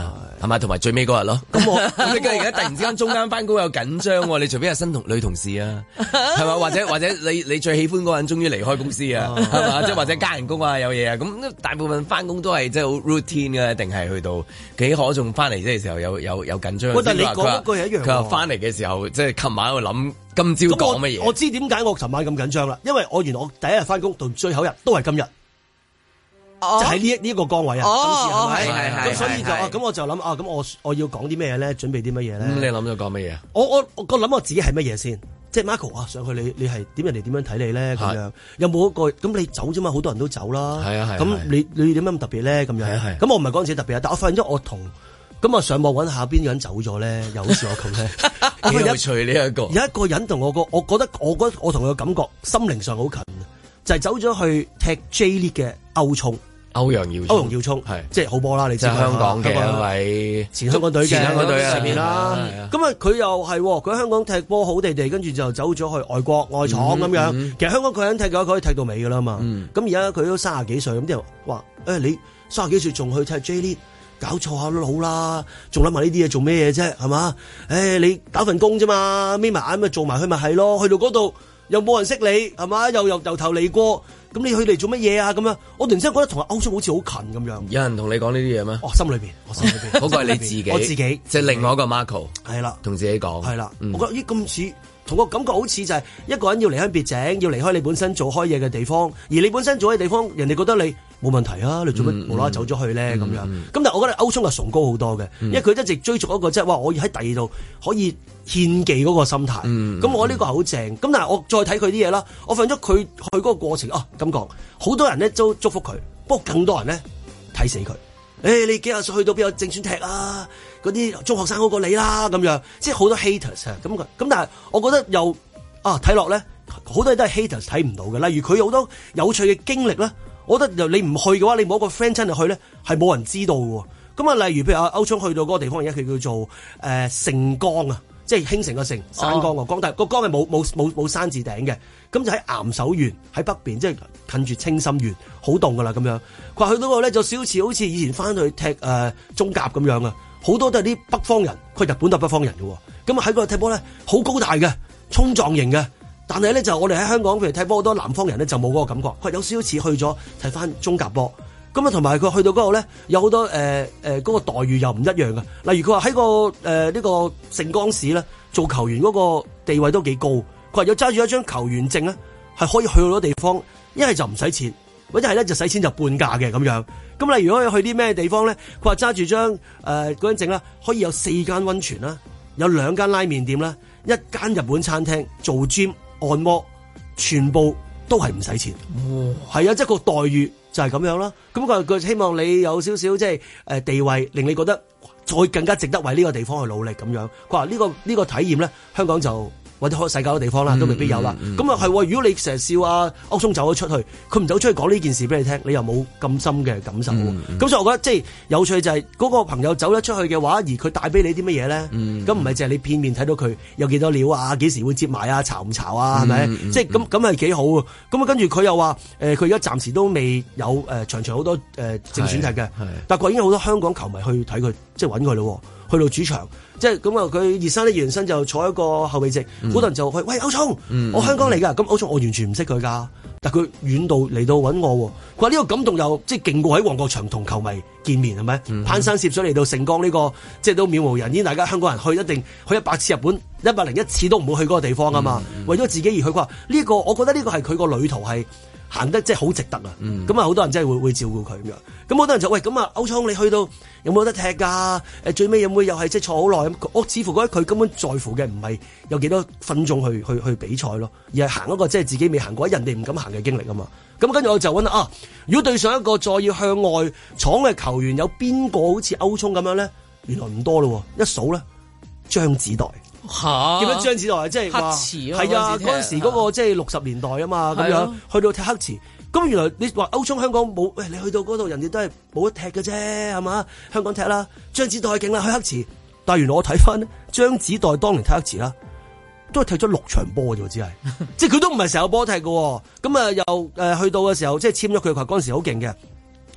係咪？同埋最尾嗰日咯。咁我咁你而家突然之間中間翻工有緊張喎，你除非係新同女同事啊，係嘛？或者或者你你最喜歡嗰個人終於離開公司啊，係嘛？即係或者加人工啊，有嘢啊，咁大部分翻工都係即係好 routine 嘅，一定係去到幾可仲翻嚟即係時候有有有緊張。 喂，但係你講嗰句係一樣。 佢話翻嚟嘅時候，即係琴晚喺度諗今朝講乜嘢。 我知點解我琴晚咁緊張啦，因為我原來我第一日翻工到最後一日都係今日。就喺呢一呢一個崗位啊，今次係咪？係係咁所以就啊，咁我就諗啊，咁我我要講啲咩咧？準備啲乜嘢咧？ 咁你諗咗講乜嘢？ 我我我個諗我自己係乜嘢先？即係 Marco 啊，上去你你係點人哋點樣睇你咧？咁樣有冇一個咁你走啫嘛？好多人都走啦。係啊係。咁你你點解咁特別咧？咁樣係。咁我唔係講自己特別啊，但我發現咗我同咁啊上網揾下邊個人走咗咧，又好似我咁咧。 幾有趣呢一個。有一個人同我個，我覺得我覺得我同佢嘅感覺心靈上好近，就係走咗去踢 J League 嘅歐聰。 歐陽耀歐陽耀聰係即係好波啦，你知係香港嘅一位前香港隊嘅前香港隊上面啦。咁啊，佢又係佢喺香港踢波好地地，跟住就走咗去外國外廠咁樣。嗯嗯、其實香港佢肯踢嘅話，佢可以踢到尾噶啦嘛。咁而家佢都三十幾歲，咁啲人話誒，你三十幾歲仲去踢 J League，搞錯下都好啦，仲諗埋呢啲嘢做咩嘢啫？係嘛？誒、欸，你打份工啫嘛，眯埋眼咪做埋去咪係咯？去到嗰度又冇人識你，係嘛？又又由頭嚟過。咁你去嚟做乜嘢啊？咁樣，我突然之間覺得同阿歐聰好似好近咁樣。有人同你講呢啲嘢咩？哦，心裏邊，我心裏邊，嗰個係你自己，我自己，即係另外一個 Marco，係啦，同自己講，係啦，我覺得咦咁似，同個感覺好似就係一個人要離鄉別井，要離開你本身做開嘢嘅地方，而你本身做嘅地方，人哋覺得你冇問題啊，你做乜無啦啦走咗去咧咁樣？咁但係我覺得歐聰係崇高好多嘅，因為佢一直追逐一個即係哇，我要喺第二度可以獻技嗰個心態。咁我呢個係好正。咁但係我再睇佢啲嘢啦，我發現咗佢去嗰個過程啊，咁講，好多人咧都祝福佢，不過更多人咧睇死佢。誒，你幾廿歲去到邊有正選踢啊？嗰啲中學生好過你啦，咁樣，即係好多 haters 啊。咁咁但係我覺得又啊睇落咧，好多嘢都係 haters 睇唔到嘅。例如佢好多有趣嘅經歷咧。我覺得你唔去嘅話，你冇一個 friend 真係去咧，係冇人知道嘅。咁啊，例如譬如阿歐聰去到嗰個地方，而家佢叫做誒盛江啊，即係興盛個盛，山江個江，但係個江係冇冇冇冇山字頂嘅。咁就喺岩手縣喺北邊，即係近住青森縣，好凍噶啦咁樣。佢話去到嗰度咧，就少似好似以前翻去踢誒、呃、中甲咁樣啊，好多都係啲北方人，佢日本都係北方人嘅。咁啊喺嗰度踢波咧，好高大嘅，衝撞型嘅。但係咧就我哋喺香港，譬如踢波好多南方人咧就冇嗰個感覺，佢有少少似去咗睇翻中甲波。咁啊同埋佢去到嗰度咧，有好多誒誒嗰個待遇又唔一樣嘅。例如佢話喺個誒呢、呃這個盛江市咧做球員嗰個地位都幾高。佢話有揸住一張球員證咧，係可以去好多地方，一係就唔使錢，或者係咧就使錢就半價嘅咁樣。咁例如可以去啲咩地方咧？佢話揸住張誒嗰張證啦，可以有四間溫泉啦，有兩間拉麵店啦，一間日本餐廳做 gym。按摩全部都係唔使錢，係啊，即係個待遇就係咁樣啦。咁佢佢希望你有少少即係誒地位，令你覺得再更加值得為呢個地方去努力咁樣。佢話呢個呢個體驗咧，香港就或者開世界嘅地方啦，都未必有啦。咁啊係，如果你成日笑啊歐聰走咗出去，佢唔走出去講呢件事俾你聽，你又冇咁深嘅感受。咁、嗯嗯、所以我覺得即係有趣就係嗰個朋友走咗出去嘅話，而佢帶俾你啲乜嘢咧？咁唔係淨係你片面睇到佢有幾多料啊，幾時會接埋啊，巢唔巢啊，係咪？即係咁咁係幾好啊！咁啊跟住佢又話誒，佢而家暫時都未有誒、呃、場場好多誒、呃、正選踢嘅，但係已經好多香港球迷去睇佢，即係揾佢咯。去到主場，即係咁啊！佢熱身咧，熱身就坐一個後備席，好、嗯、多人就去喂歐聰，嗯、我香港嚟噶，咁歐聰我完全唔識佢噶，但係佢遠道嚟到揾我，佢話呢個感動又即係勁過喺旺角場同球迷見面係咪？嗯、攀山涉水嚟到盛江呢、這個，即係都渺無人煙，大家香港人去一定去一百次日本，一百零一次都唔會去嗰個地方啊嘛，嗯嗯、為咗自己而去，佢話呢個我覺得呢個係佢個旅途係行得即係好值得啊！咁啊好多人真係會會照顧佢咁樣，咁好多人就喂咁啊歐聰你去到有冇得踢㗎？誒最尾有冇又係即係坐好耐咁？我似乎覺得佢根本在乎嘅唔係有幾多分鐘去去去比賽咯，而係行一個即係自己未行過、人哋唔敢行嘅經歷啊嘛。咁跟住我就揾啊，如果對上一個再要向外闖嘅球員有邊個好似歐聰咁樣咧？原來唔多咯，一數咧張子岱。嚇！點樣張子岱即係話係啊？嗰陣時嗰個即係六十年代啊嘛，咁樣去到踢黑池。咁原來你話歐聰香港冇，喂你去到嗰度人哋都係冇得踢嘅啫，係嘛？香港踢啦，張子岱勁啦，去黑池。但係原來我睇翻咧，張子岱當年踢黑池啦，都係踢咗六場波嘅啫，只係，即係佢都唔係成個波踢嘅。咁啊又誒去到嘅時候，即係簽咗佢，佢嗰陣時好勁嘅。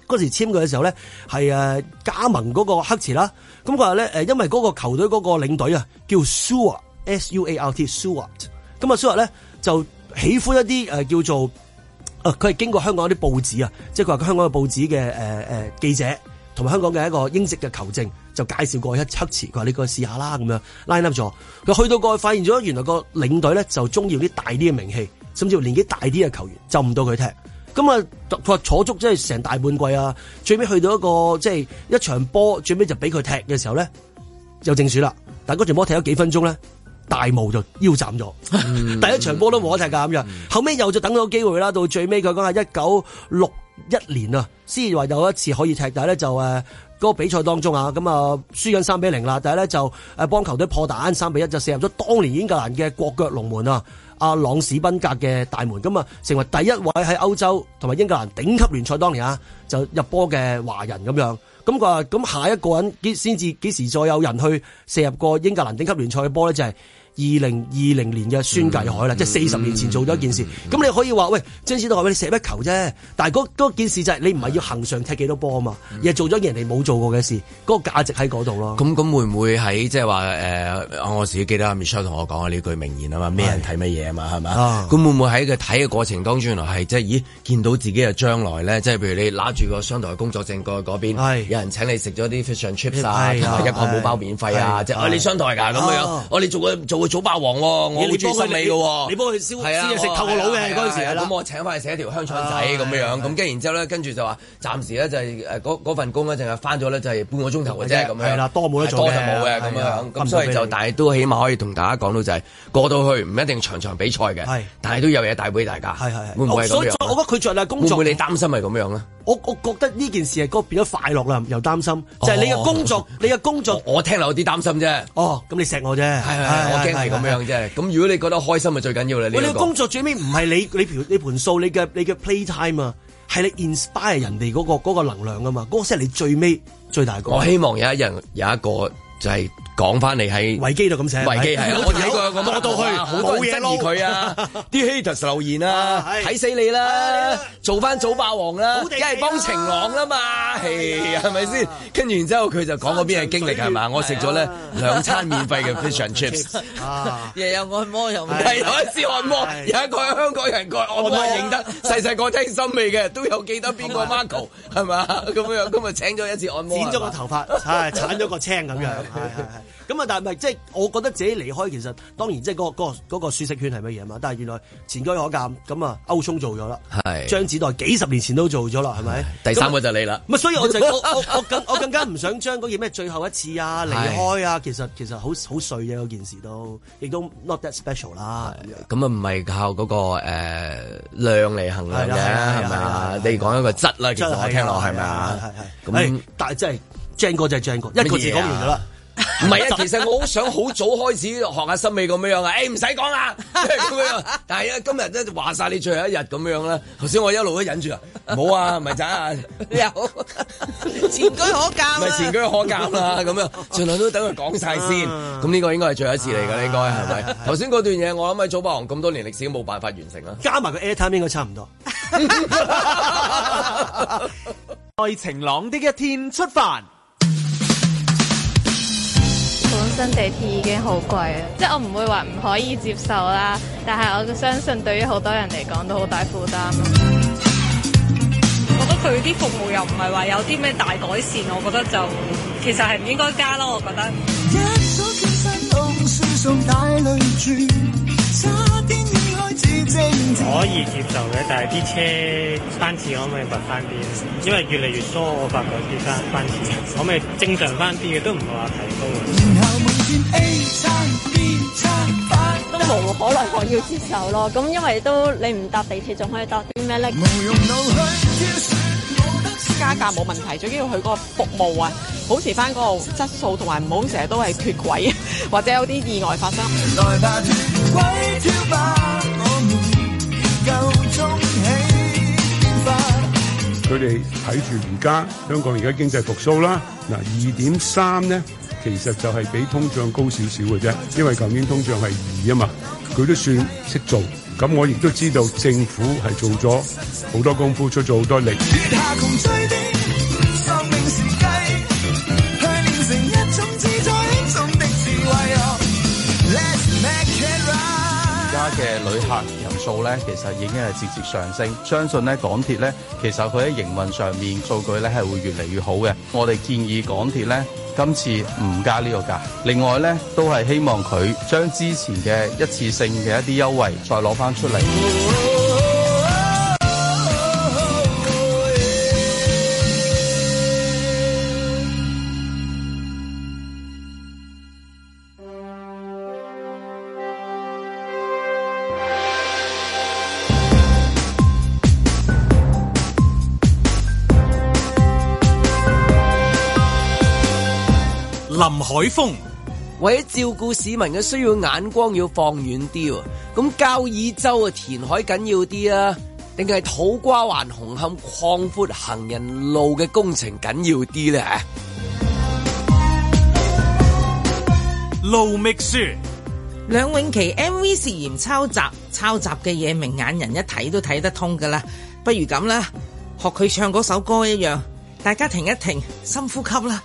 嗰時簽佢嘅時候咧係誒加盟嗰個黑池啦。咁佢話咧誒，因為嗰個球隊嗰個領隊啊叫 Stewart S U A R T Stewart， 咁啊 Stewart 咧就喜歡一啲誒、呃、叫做誒佢係經過香港一啲報紙啊，即係佢話香港嘅報紙嘅誒誒記者同埋香港嘅一個英式嘅球證就介紹過一黑池，佢話你過去試下啦咁樣 line up 咗。佢去到過去發現咗原來個領隊咧就中意啲大啲嘅名氣，甚至乎年紀大啲嘅球員就唔到佢踢。咁啊，佢話坐足即係成大半季啊，最尾去到一個即係一場波，最尾就俾佢踢嘅時候咧，就正選啦。但係嗰場波踢咗幾分鐘咧，大霧就腰斬咗，嗯、第一場波都冇得踢㗎咁樣。嗯、後尾又就等到機會啦，到最尾佢講係一九六一年啊，先至話有一次可以踢，但係咧就誒嗰、呃那個比賽當中啊，咁啊輸緊三比零啦，但係咧就誒幫球隊破蛋三比一，就射入咗當年英格蘭嘅國腳龍門啊！阿朗史賓格嘅大門，咁啊成為第一位喺歐洲同埋英格蘭頂級聯賽當年啊就入波嘅華人咁樣。咁佢話咁下一個人幾先至幾時再有人去射入過英格蘭頂級聯賽嘅波咧，就係二零二零年嘅孫繼海啦，嗯、即係四十年前做咗一件事。咁、嗯、你可以話喂，張指導話喂，你射一球啫，但係嗰件事就係你唔係要恆常踢幾多波啊嘛，嗯、而係做咗人哋冇做過嘅事，嗰、嗰個價值喺嗰度咯。咁咁會唔會喺即係話誒？我自己記得阿 Michelle 同我講嘅呢句名言啊嘛，咩人睇乜嘢啊嘛，係咪？咁會唔會喺佢睇嘅過程當中，原來係即係咦見到自己嘅將來咧？即係譬如你拿住個商台工作證過去嗰邊，係有人請你食咗啲 fish and chips 啊，同埋一個冇包免費啊，即係啊你商台㗎咁樣，我哋做個做個早霸王，我好中意心美嘅，你幫佢燒燒嘢食透個腦嘅嗰陣時，咁我請翻去食一條香腸仔咁樣樣，咁跟住然之後咧，跟住就話暫時咧就係誒嗰嗰份工咧，淨係翻咗咧就係半個鐘頭嘅啫，咁樣係啦，多冇得做嘅，多就冇嘅咁樣，咁所以就但係都起碼可以同大家講到就係過到去唔一定場場比賽嘅，但係都有嘢帶俾大家，係係會唔會係咁樣？所以我覺得佢着力工作，會唔會你擔心係咁樣咧？我我覺得呢件事係嗰變咗快樂啦，又擔心，就係你嘅工作，你嘅工作，我聽落有啲擔心啫。哦，咁你錫我啫，係係，我驚係咁樣啫。咁如果你覺得開心，咪最緊要啦。喂，你嘅工作最尾唔係你你盤你盤數，你嘅你嘅 play time 啊，係你 inspire 人哋嗰個嗰個能量啊嘛，嗰個先係你最尾最大個。我希望有一日有一個就係。講翻嚟喺維基度咁寫，維基係啊，我睇過咁多到去，好多人質疑佢啊，啲 haters 留言啊，睇死你啦，做翻早霸王啦，梗係幫晴朗啦嘛，係咪先？跟住然之後佢就講嗰邊嘅經歷係嘛，我食咗咧兩餐免費嘅 fish and chips，又有按摩又係有一次按摩，有一個香港人個按摩認得，細細個聽森美嘅都有記得邊個 Marco 係嘛，咁樣咁啊請咗一次按摩，剪咗個頭髮，係鏟咗個青咁樣，係係係。咁啊，但係咪即係我覺得自己離開，其實當然即係嗰個嗰個嗰個舒適圈係乜嘢嘛？但係原來前車可鑑，咁啊歐聰做咗啦，係張子岱幾十年前都做咗啦，係咪？第三個就你啦。咁啊，所以我就我我我更我更加唔想將嗰件咩最後一次啊離開啊，其實其實好好碎嘅嗰件事都，亦都 not that special 啦。咁啊，唔係靠嗰個誒量嚟衡量嘅，係咪啊？你講一個質啦，其實我聽落係咪啊？係係咁，但係真係正哥就係正哥，一個字講完咗啦。唔係啊，其實我好想好早開始學下森美咁樣啊！誒唔使講啦，咁樣。但係啊，今日咧話晒你最後一日咁樣啦。頭先我一路都忍住啊，冇啊，唔係咋啊？有前車可鑑，唔係前車可鑑啦，咁樣盡量都等佢講晒先。咁呢個應該係最後一次嚟㗎，應該係咪？頭先嗰段嘢，我諗喺早霸王咁多年歷史都冇辦法完成啦。加埋個 airtime 應該差唔多。在晴朗的一天出發。 本身地鐵已經好貴啊，即係我唔會話唔可以接受啦，但係我相信對於好多人嚟講都好大負擔。 我覺得佢啲服務又唔係話有啲咩大改善，我覺得就其實係唔應該加咯，我覺得。 可以接受嘅，但係啲車班次可唔可以密翻啲？因為越嚟越疏，我發覺啲班班次可唔可以正常翻啲嘅，都唔係話提高嘅。 都無可奈何要接受咯。咁因為都你唔搭地鐵，仲可以搭啲咩咧？ 加價冇問題，最緊要佢嗰個服務啊，保持翻嗰個質素，同埋唔好成日都係脫軌，或者有啲意外發生。 佢哋睇住而家香港而家經濟復甦啦，嗱二點三咧，其實就係比通脹高少少嘅啫，因為舊年通脹係二啊嘛，佢都算識做。咁我亦都知道政府係做咗好多功夫，出咗好多力。 嘅旅客人數咧，其實已經係節節上升。相信咧港鐵咧，其實佢喺營運上面數據咧係會越嚟越好嘅。我哋建議港鐵咧今次唔加呢個價。另外咧，都係希望佢將之前嘅一次性嘅一啲優惠再攞翻出嚟。 林海峰為咗照顧市民嘅需要，眼光要放遠啲喎。咁交椅洲啊填海緊要啲啊，定係土瓜灣紅磡擴闊行人路嘅工程緊要啲咧？ 盧覓雪， 梁詠琪 M V 涉嫌抄襲，抄襲嘅嘢明眼人一睇都睇得通噶啦。不如咁啦，學佢唱嗰首歌一樣，大家停一停，深呼吸啦。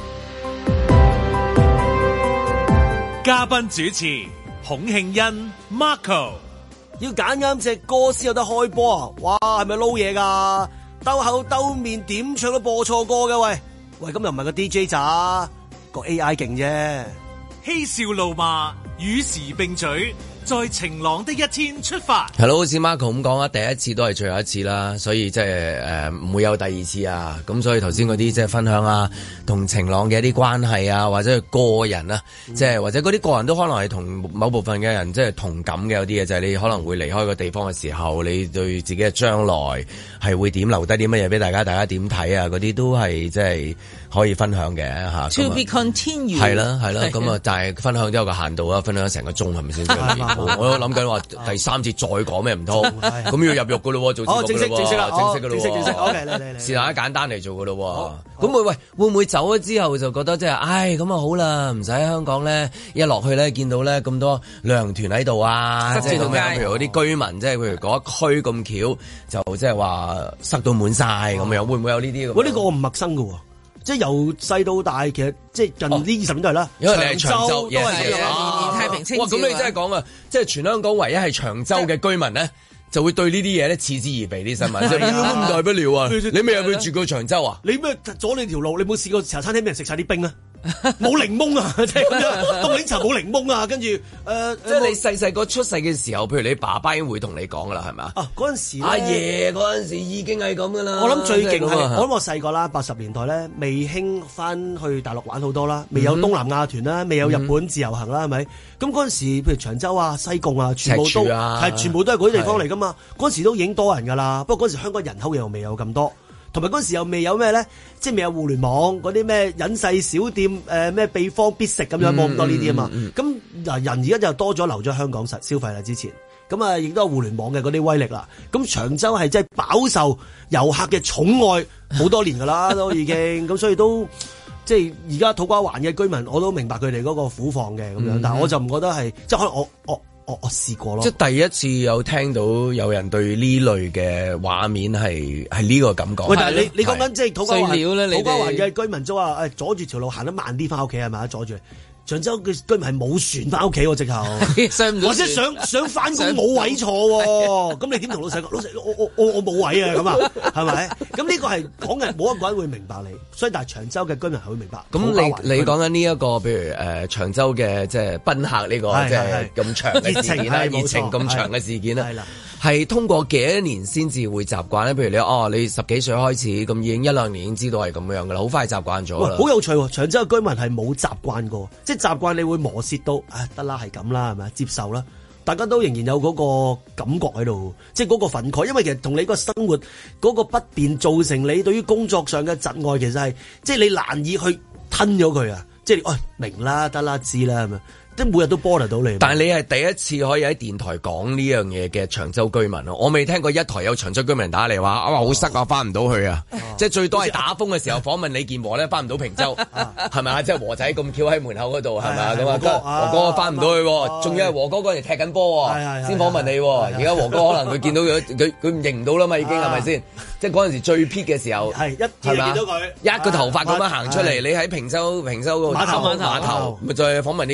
嘉賓主持孔慶欣 Marco， 要揀啱隻歌先有得開波啊！哇，係咪撈嘢噶？兜口兜面點唱都播錯歌嘅喂喂，咁又唔係個 D J 咋，個 A I 勁啫。 嬉笑怒罵與時並舉，在晴朗的一天出發。 係咯，好似 Marco 咁講啊，第一次都係最後一次啦，所以即係誒唔會有第二次啊。咁所以頭先嗰啲即係分享啊，同晴朗嘅一啲關係啊，或者係個人啊，即係、嗯、或者嗰啲個人都可能係同某部分嘅人即係同感嘅，有啲嘢就係、是、你可能會離開個地方嘅時候，你對自己嘅將來係會點留低啲乜嘢俾大家，大家點睇啊？嗰啲都係即係可以分享嘅嚇。 To be continued。 係啦係啦，咁啊，但係分享都有個限度啊，分享成個鐘係咪先？我都諗緊話第三節再講咩唔通？咁要入肉噶咯，做節目噶咯，正式正式啦，正式噶咯，正式正式。OK，嚟嚟嚟，是但一簡單嚟做噶咯。咁會喂會唔會走咗之後就覺得即係，唉咁啊好啦，唔使喺香港咧，一落去咧見到咧咁多旅行團喺度啊，即係咁樣，譬如嗰啲居民，即係譬如嗰一區咁巧，就即係話塞到滿晒咁樣，會唔會有呢啲？ 我呢個我唔陌生噶。即係由細到大，其實即係近呢二十年都係啦。 因為你係長洲， 都係咁樣，太平清醮。 哇！咁你真係講啊，即係全香港唯一係長洲嘅居民咧，就會對呢啲嘢咧嗤之以鼻啲新聞。即係咁大不了啊！你未入去住過長洲啊？ 你咩阻你條路？你冇試過茶餐廳俾人食晒啲冰啊？冇檸檬啊！即係咁樣，凍檸茶冇檸檬啊！跟住誒， 即係你細細個出世嘅時候，譬如你爸爸已經會同你講噶啦，係咪啊？ 啊，嗰陣時阿爺嗰陣時已經係咁噶啦。 我諗最勁係，我諗我細個啦，八十年代咧，未興翻去大陸玩好多啦，未有東南亞團啦，未有日本自由行啦，係咪？咁嗰陣時，譬如長洲啊、西貢啊，全部都係全部都係嗰啲地方嚟噶嘛。嗰陣時都已經多人噶啦，不過嗰陣時香港人口又未有咁多。同埋嗰陣時又未有咩咧，即係未有互聯網嗰啲咩隱世小店，誒咩秘方必食咁樣，冇咁多呢啲啊嘛。咁嗱人而家就多咗留咗香港實消費啦，之前咁啊亦都有互聯網嘅嗰啲威力啦。咁長洲係真係飽受遊客嘅寵愛好多年噶啦，都已經咁，所以都即係而家土瓜灣嘅居民，我都明白佢哋嗰個苦況嘅咁樣，但係我就唔覺得係即係可能我我。我我試過咯， 即係第一次有聽到有人對呢類嘅畫面係係呢個感覺。 喂，但係你你講緊即係土瓜灣， 土瓜灣嘅居民都話誒阻住條路行得慢啲翻屋企係咪？阻住。長洲嘅居民係冇船翻屋企喎，直頭，或者想想翻工冇位坐喎，咁你點同老細講？老細，我我我我冇位啊，咁啊，係咪？咁呢個係講嘅，冇一個人會明白你，所以但係長洲嘅居民係會明白。 咁你你講緊呢一個，譬如誒長洲嘅即係賓客呢個即係咁長嘅事件啦，熱情咁長嘅事件啦，係通過幾多年先至會習慣咧？譬如你哦，你十幾歲開始咁已經一兩年已經知道係咁樣噶啦，好快習慣咗啦。 好有趣喎！長洲嘅居民係冇習慣過，即係習慣你會磨蝕到，唉得啦係咁啦，係咪接受啦？大家都仍然有嗰個感覺喺度，即係嗰個憤慨，因為其實同你個生活嗰個不便造成你對於工作上嘅窒礙，其實係即係你難以去吞咗佢啊！即係哦明啦，得啦，知啦，係咪？即係每日都波嚟到你， 但係你係第一次可以喺電台講呢樣嘢嘅長洲居民咯，我未聽過一台有長洲居民打嚟話啊話好塞啊，翻唔到去啊，即係最多係打風嘅時候訪問李健和咧，翻唔到坪洲，係咪啊？即係和仔咁翹喺門口嗰度，係咪啊？咁啊，和哥翻唔到去，仲要係和哥嗰陣踢緊波，先訪問你。而家和哥可能佢見到佢佢佢唔認唔到啦嘛，已經係咪先？即係嗰陣時最 peak 嘅時候， 係一見到佢一個頭髮咁樣行出嚟，你喺坪洲坪洲嗰個碼頭碼頭，咪再訪問李健和咯。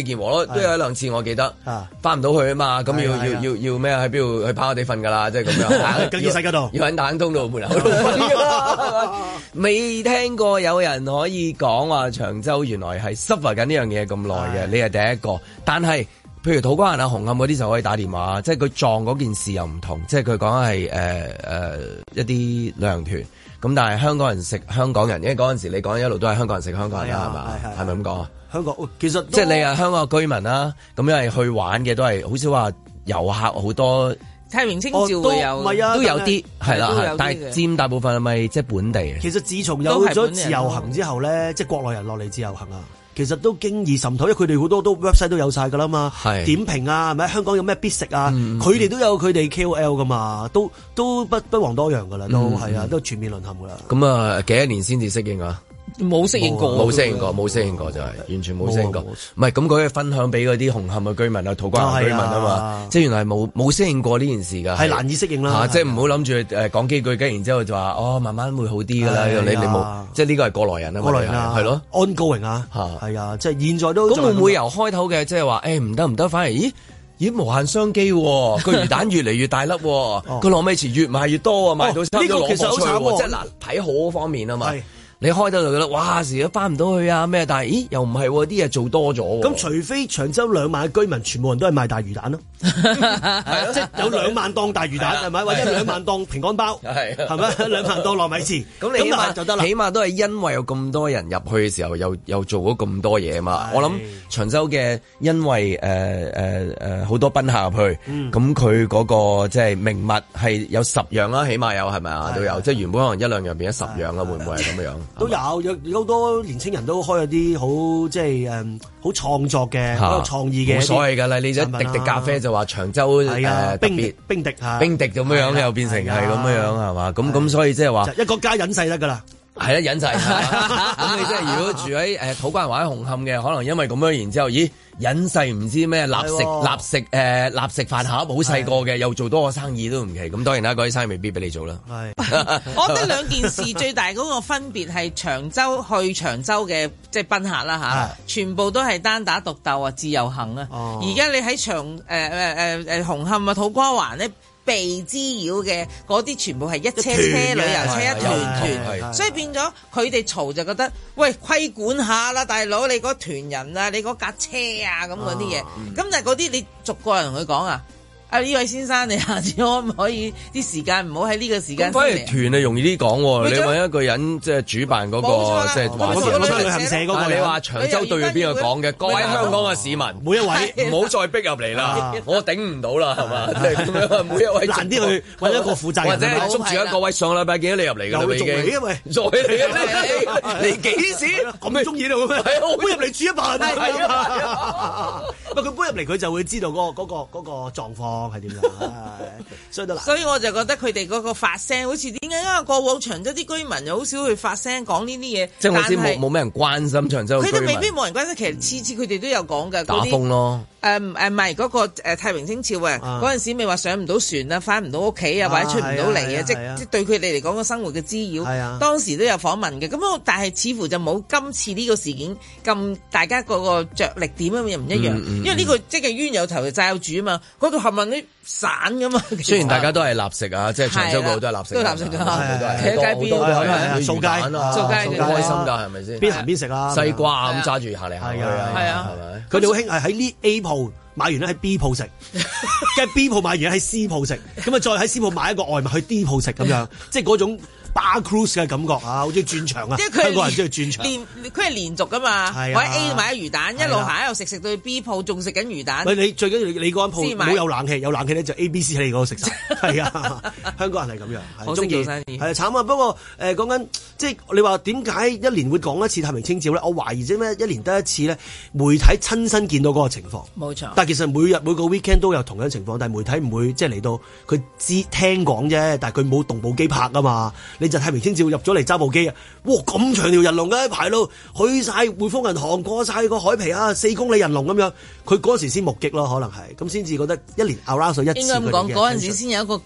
都有一兩次我記得，翻唔到去啊嘛，咁要要要要咩喺邊度去跑下地瞓㗎啦，即係咁樣。 更衣室嗰度， 要喺大通道門口度瞓㗎啦。未聽過有人可以講話長洲原來係 suffer 緊呢樣嘢咁耐嘅，你係第一個。但係譬如土瓜灣啊、紅磡嗰啲就可以打電話，即係佢撞嗰件事又唔同，即係佢講係誒誒一啲旅行團。咁但係香港人食香港人，因為嗰陣時你講一路都係香港人食香港人啦，係嘛？係咪咁講啊？ 香港其實即係你係香港嘅居民啦，咁因為去玩嘅都係好少話遊客好多。 太平清醮會有， 唔係啊， 都有啲係啦，但係佔大部分係咪即係本地？ 其實自從有咗自由行之後咧，即係國內人落嚟自由行啊。其實都經已滲透，因為佢哋好多都 website 都有晒㗎啦嘛，點評啊，係咪香港有咩必食啊？佢哋、嗯、都有佢哋 K O L 㗎嘛，都都不不遑多讓㗎啦，都係、嗯、啊，都全面淪陷㗎啦。 咁啊，幾多年先至適應啊？ 冇適應過， 冇適應過，冇適應過就係完全冇適應過。唔係咁，佢可以分享俾嗰啲紅磡嘅居民啊、土瓜灣居民啊嘛，即係原來係冇冇適應過呢件事㗎，係難以適應啦。 即係唔好諗住誒講幾句，跟然之後就話哦，慢慢會好啲㗎啦。你你冇，即係呢個係過來人啊， 過來人啊，係咯，ongoing啊，係啊，即係現在都咁會唔會由開頭嘅即係話誒唔得唔得，反而咦咦無限商機喎，個魚蛋越嚟越大粒，個糯米糍越賣越多啊，賣到差唔多攞貨出喎，即係嗱睇好嗰方面啊嘛。你開到就覺得哇，時都翻唔到去啊咩？但係咦，又唔係喎，啲嘢做多咗。 咁除非長洲兩萬嘅居民全部人都係賣大魚蛋咯，係即係有兩萬檔大魚蛋係咪？或者兩萬檔平安包係係咪？兩萬檔糯米糍咁你起碼就得啦。起碼都係因為有咁多人入去嘅時候，又又做咗咁多嘢嘛。我諗長洲嘅因為誒誒誒好多賓客入去，咁佢嗰個即係名物係有十樣啦，起碼有係咪啊？都有即係原本可能一兩樣變咗十樣啦，會唔會係咁樣？ 都有有有好多年青人都開咗啲好即係誒好創作嘅好有創意嘅， 冇所謂㗎啦。你一滴滴咖啡就話長洲誒冰滴冰滴冰滴咁樣樣又變成係咁樣樣係嘛？咁咁所以即係話一個家隱世得㗎啦。 係啦，隱世。咁你即係如果住喺誒土瓜灣或者紅磡嘅，可能因為咁樣，然之後咦隱世唔知咩立食立食誒立食飯盒，好細個嘅又做多個生意都唔奇。咁當然啦，嗰啲生意未必俾你做啦。 係，我覺得兩件事最大嗰個分別係長洲去長洲嘅即係賓客啦嚇，全部都係單打獨鬥啊，自由行啊。而家你喺長誒誒誒誒紅磡啊土瓜灣咧，被滋擾嘅嗰啲全部係一車車旅遊車一團團，所以變咗佢哋嘈就覺得，喂，規管下啦，大佬，你嗰團人啊，你嗰架車啊咁嗰啲嘢，咁但係嗰啲你逐個人同佢講啊。啊！呢位先生，你下次可唔可以啲時間唔好喺呢個時間？ 反而團啊容易啲講喎，你揾一個人即係主辦嗰個即係話事旅行社嗰個，你話長洲對住邊個講嘅？各位香港嘅市民，每一位唔好再逼入嚟啦，我頂唔到啦，係嘛？即係咁樣，每一位難啲去揾一個負責人，或者係捉住一個位。上禮拜見到你入嚟㗎啦，已經嚟啊喂，再嚟啊！你幾時咁中意到咩？係我搬入嚟住一晚，係啊！唔係佢搬入嚟，佢就會知道嗰個嗰個嗰個狀況。係點樣？所以都難。 所以我就覺得佢哋嗰個發聲，好似點解啊？過往長洲啲居民又好少去發聲講呢啲嘢。 即係我先冇冇咩人關心長洲。 佢哋未必冇人關心，其實次次佢哋都有講㗎。 打風咯。 誒誒唔係嗰個誒太平清醮啊！嗰陣時咪話上唔到船啊，翻唔到屋企啊，或者出唔到嚟啊，即即對佢哋嚟講個生活嘅滋擾。係啊。當時都有訪問嘅，咁但係似乎就冇今次呢個事件咁大家嗰個着力點咁又唔一樣。因為呢個即係冤有頭就債有主啊嘛，嗰度冚唪唥啲散噶嘛。 雖然大家都係立食啊，即係長洲嗰度都係立食，都立食㗎，企喺街邊，掃街啊，掃街好開心㗎，係咪先？ 邊行邊食啊， 西瓜咁揸住行嚟行去啊，係啊，係咪？ 佢哋好興係喺呢 A 鋪買完咧喺 B 鋪食，跟住 B 鋪買完喺 C 鋪食，咁啊再喺 C 鋪買一個外賣去 D 鋪食咁樣，即係嗰種。Bar cruise 嘅感覺啊，好似轉場啊！香港人中意轉場。連佢係連續噶嘛，我喺 A 買咗魚蛋，一路行一路食，食到去 B 鋪仲食緊魚蛋。喂， 你最緊要你嗰間鋪冇有冷氣，有冷氣咧就 A、B、C 喺你嗰度食晒。係啊，香港人係咁樣， 好中意做生意。 係啊，慘啊！不過誒講緊即係你話點解一年會講一次太平清醮咧？我懷疑啫咩？一年得一次咧，媒體親身見到嗰個情況。 冇錯。 但係其實每日每個 weekend 都有同樣情況，但係媒體唔會即係嚟到佢知聽講啫，但係佢冇動部機拍啊嘛。你就太平清醮入咗嚟揸部機啊！哇，咁長條人龍嘅排路，去晒匯豐銀行，過晒個海皮啊，四公里人龍咁樣。佢嗰時先目擊咯，可能係咁先至覺得一年 around 一次。 應該咁講，嗰陣時先有一個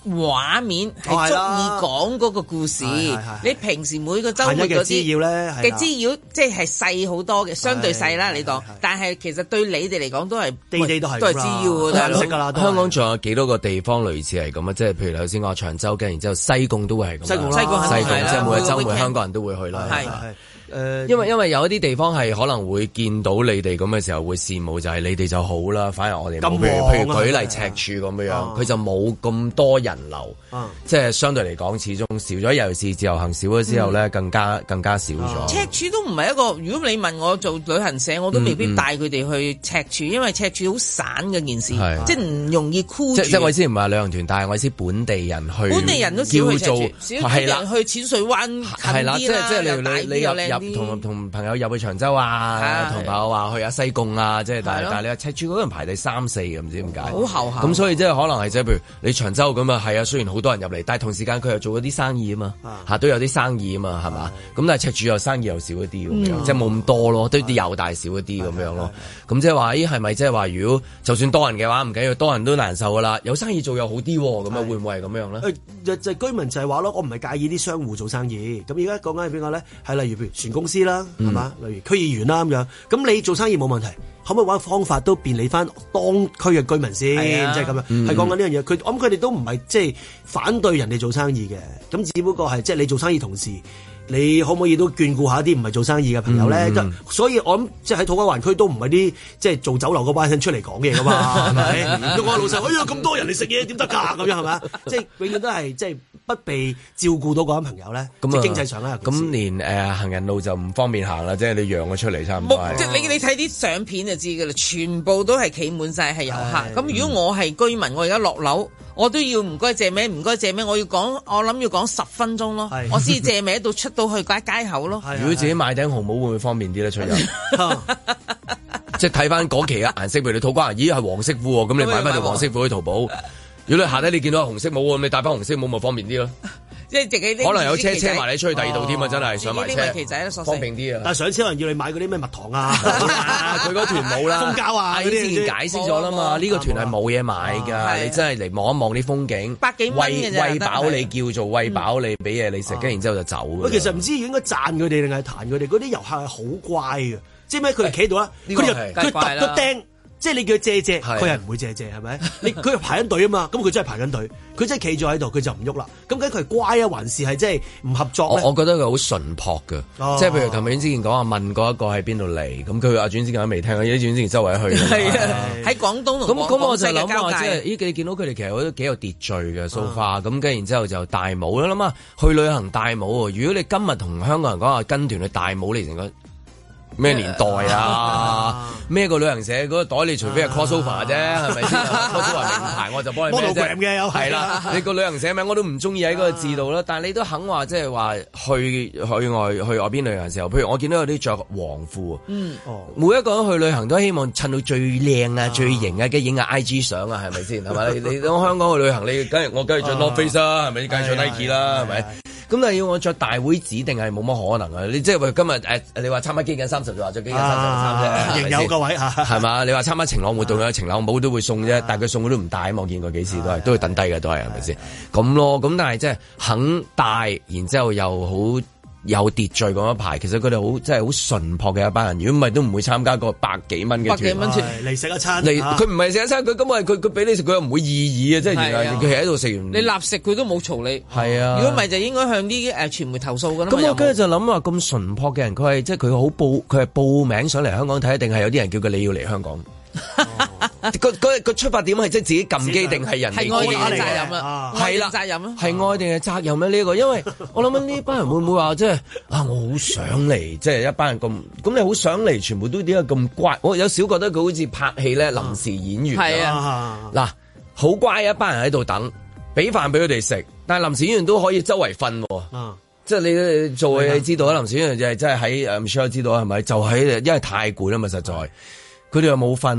畫面係足以講嗰個故事。你平時每個週末嗰啲滋擾咧嘅滋擾，即係細好多嘅，相對細啦。你當，但係其實對你哋嚟講都係地地都係都係滋擾㗎。 識㗎啦。 香港仲有幾多個地方類似係咁啊？即係譬如頭先講長洲嘅，然之後西貢都會係咁。西貢西貢西貢即係每個週末香港人都會去啦。係係。誒，因為因為有一啲地方係可能會見到你哋咁嘅時候會羨慕，就係你哋就好啦，反而我哋冇。譬如譬如舉例赤柱咁樣樣，佢就冇咁多人流，即係相對嚟講始終少咗，尤其是自由行少咗之後咧，更加更加少咗。 赤柱都唔係一個，如果你問我做旅行社，我都未必帶佢哋去赤柱，因為赤柱好散嘅件事，即係唔容易箍住。即係我意思唔係旅行團，但係我意思本地人去，本地人都少去赤柱，少啲人去淺水灣近啲啦，即係你你入。同同朋友入去長洲啊，同朋友話去下西貢啊，即係但係但係你話赤柱嗰人排第三四嘅，唔知點解。好後下。咁所以即係可能係即係譬如你長洲咁啊，係啊，雖然好多人入嚟，但係同時間佢又做咗啲生意啊嘛，嚇都有啲生意啊嘛，係嘛？咁但係赤柱又生意又少一啲咁樣，即係冇咁多咯，都啲又大少一啲咁樣咯。咁即係話咦係咪即係話如果就算多人嘅話唔緊要，多人都難受噶啦，有生意做又好啲喎，咁啊會唔會係咁樣咧？ 誒就居民就係話咯，我唔係介意啲商戶做生意。咁而家講緊係邊個咧？係例如譬如船公司啦，係嘛？例如區議員啦咁樣，咁你做生意冇問題，可唔可以揾方法都便利翻當區嘅居民先？即係咁樣，係講緊呢樣嘢。佢我諗佢哋都唔係即係反對人哋做生意嘅，咁只不過係即係你做生意同時，你可唔可以都眷顧下啲唔係做生意嘅朋友咧？嗯、所以我諗即係喺土瓜灣區都唔係啲即係做酒樓嗰班人出嚟講嘢噶嘛，係咪？我話老實，哎呀咁多人嚟食嘢點得㗎？咁樣係咪？即係永遠都係即係不被照顧到嗰班朋友咧，即係經濟上咧。 咁連誒、呃、行人路就唔方便行啦，即係你讓咗出嚟差唔多。 即係你你睇啲相片就知㗎啦，全部都係企滿晒係遊客。咁的如果我係居民，我而家落樓。我都要唔該借名，唔該借名，我要講，我諗要講十分鐘咯，是我先借名到出到去街街口咯。 如果自己買頂紅帽會唔會方便啲咧？出入，即係睇翻嗰期嘅顏色，譬如你土瓜灣，咦係黃色褲喎，咁你買翻條黃色褲去淘寶。如果你下低你見到紅色帽咁，你戴翻紅色帽咪方便啲咯。即係自己可能有車車埋你出去第二度添啊！真係上埋車，方便啲啊！ 但係上車可能要你買嗰啲咩蜜糖啊， 佢嗰團冇啦， 蜂膠啊， 之前解釋咗啦嘛，呢個團係冇嘢買㗎，你真係嚟望一望啲風景， 百幾蚊嘅啫， 餵飽你叫做餵飽你，俾嘢你食，跟然之後就走。 喂，其實唔知應該讚佢哋定係彈佢哋，嗰啲遊客係好乖嘅，即係咩？佢哋企喺度啦，佢就佢揼個釘。即係你叫佢借借，佢係唔會借借，係咪？你佢係排緊隊啊嘛，咁佢真係排緊隊，佢真係企咗喺度，佢就唔喐啦。咁究竟佢係乖啊，還是係即係唔合作咧？ 我覺得佢好純樸嘅，哦、即係譬如琴日之前講話問過一個喺邊度嚟，咁佢阿轉之前都未聽，因為轉之前周圍去。 係啊，喺廣東同廣咁咁我就諗話，即係咦？你見到佢哋其實都幾有秩序嘅 so far，咁跟然之後就戴帽啦。諗下去旅行戴帽喎，如果你今日同香港人講話跟團去戴帽，你成個咩年代啊？咩個旅行社嗰個袋？你除非係 crossover 啫，係咪先？crossover 名牌我就幫你咩啫？係啦，你個旅行社名我都唔中意喺嗰個字度啦。但係你都肯話，即係話去去外去外邊旅行嘅時候，譬如我見到有啲着黃褲，嗯，每一個人去旅行都希望襯到最靚啊、最型啊，跟住影下 I G 相啊，係咪先？係咪？你你到香港去旅行，你梗係我梗係着 North Face 啦，係咪？梗係着 Nike 啦，係咪？咁但係要我着大會指定係冇乜可能啊！你即係話今日誒，你話參加基緊三十就話着基緊三十衫啫， 仍有個位嚇，係嘛？你話參加晴朗活動啊，晴朗帽都會送啫，但係佢送佢都唔戴，我見過幾次都係都會等低嘅，都係係咪先？咁咯，咁但係即係肯戴，然之後又好有秩序咁一排，其實佢哋好即係好純樸嘅一班人。如果唔係都唔會參加個百幾蚊嘅團，百幾蚊團嚟食一餐。 嚟佢唔係食一餐，佢根本係佢佢俾你食，佢又唔會意義啊！即係原來佢係喺度食完。 你立食佢都冇嘈你。係啊。如果唔係就應該向啲誒傳媒投訴㗎啦。 咁我跟住就諗話咁純樸嘅人，佢係即係佢好報，佢係報名上嚟香港睇，定係有啲人叫佢你要嚟香港？個個個出發點係即係自己撳機定係人哋？ 係愛定係責任啊？ 係啦，責任啊？係愛定係責任咧？呢個因為我諗緊呢班人會唔會話即係啊？我好想嚟，即係一班人咁咁，你好想嚟，全部都點解咁乖？我有少覺得佢好似拍戲咧，臨時演員係啊。嗱，好乖一班人喺度等，俾飯俾佢哋食，但係臨時演員都可以周圍瞓。啊，即係你做嘢，你知道啦，臨時演員就係真係喺誒 Michelle 知道係咪？就喺因為太攰啦嘛，實在。佢哋又冇瞓，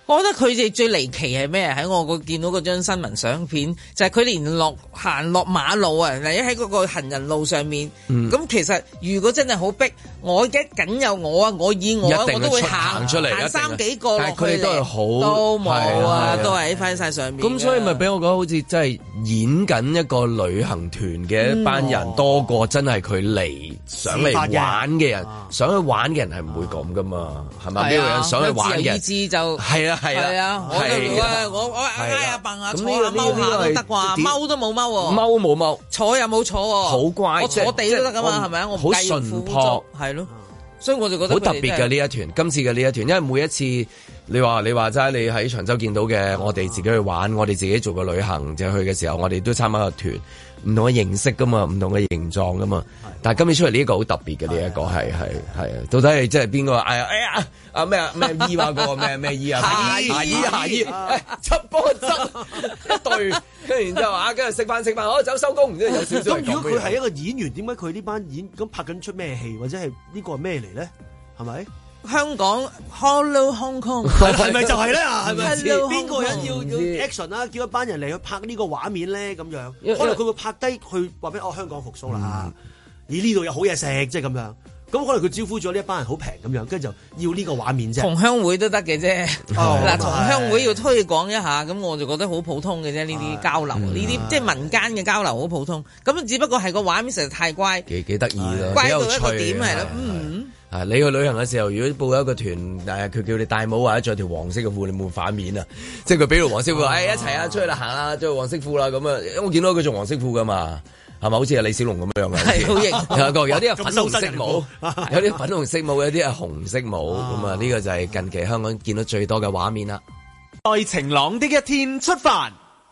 我覺得佢哋最離奇係咩？喺我個見到嗰張新聞相片，就係、是、佢連落行落馬路啊，例如喺嗰個行人路上面。咁、嗯、其實如果真係好逼，我而家僅有我啊，我以我我都會行出嚟， 行三幾個落去。 但係佢哋都係好都冇啊，都係喺翻晒上面。咁所以咪俾我覺得好似真係演緊一個旅行團嘅一班人，嗯、多過真係佢嚟想嚟玩嘅人，啊、想去玩嘅人係唔會咁噶嘛，係咪？呢個人想去玩嘅人，自由意志就係啊係啊，係啊，我就我我挨下蹦下坐下踎下都得啩，踎都冇踎喎，踎冇踎，坐又冇坐喎，好乖，我坐地都得噶嘛，係咪啊？我好順樸，係咯，所以我就覺得好特別嘅呢一團，今次嘅呢一團，因為每一次你話你話齋，你喺長洲見到嘅，我哋自己去玩，我哋自己做個旅行就去嘅時候，我哋都參加個團。唔同嘅形式噶嘛，唔同嘅形狀噶嘛，但係今年出嚟呢一個好特別嘅呢一個係係係啊，到底係即係邊個？哎呀哎呀啊咩啊咩醫話個咩咩醫啊？下醫下醫下醫，執幫執一對，跟住然之後啊，跟住食飯食飯，好走收工，然之後有少少。 咁如果佢係一個演員，點解佢呢班演咁拍緊出咩戲，或者係呢個係咩嚟咧？係咪？ 香港 Hello Hong Kong 係咪就係咧？係咪邊個人要要 action 啊？叫一班人嚟去拍呢個畫面咧？咁樣可能佢會拍低去話俾哦香港復甦啦，而呢度有好嘢食，即係咁樣。咁可能佢招呼咗呢一班人好平咁樣，跟住就要呢個畫面啫。同鄉會都得嘅啫。嗱，同鄉會要推廣一下，咁我就覺得好普通嘅啫。呢啲交流，呢啲即係民間嘅交流好普通。咁只不過係個畫面實在太乖，幾幾得意咯，乖到一個點係咯，嗯。 啊！你去旅行嘅時候，如果報一個團，誒佢叫你戴帽或者着條黃色嘅褲，你冇反面啊！即係佢俾條黃色褲，誒、哎、一齊啊，出去啦，行啦，着黃色褲啦咁啊！我見到佢着黃色褲噶嘛，係咪好似係李小龍咁樣嘅？係好型，有個有啲係粉紅色帽，有啲粉紅色帽，有啲係紅色帽咁啊！呢個就係近期香港見到最多嘅畫面啦。 在晴朗的一天出發。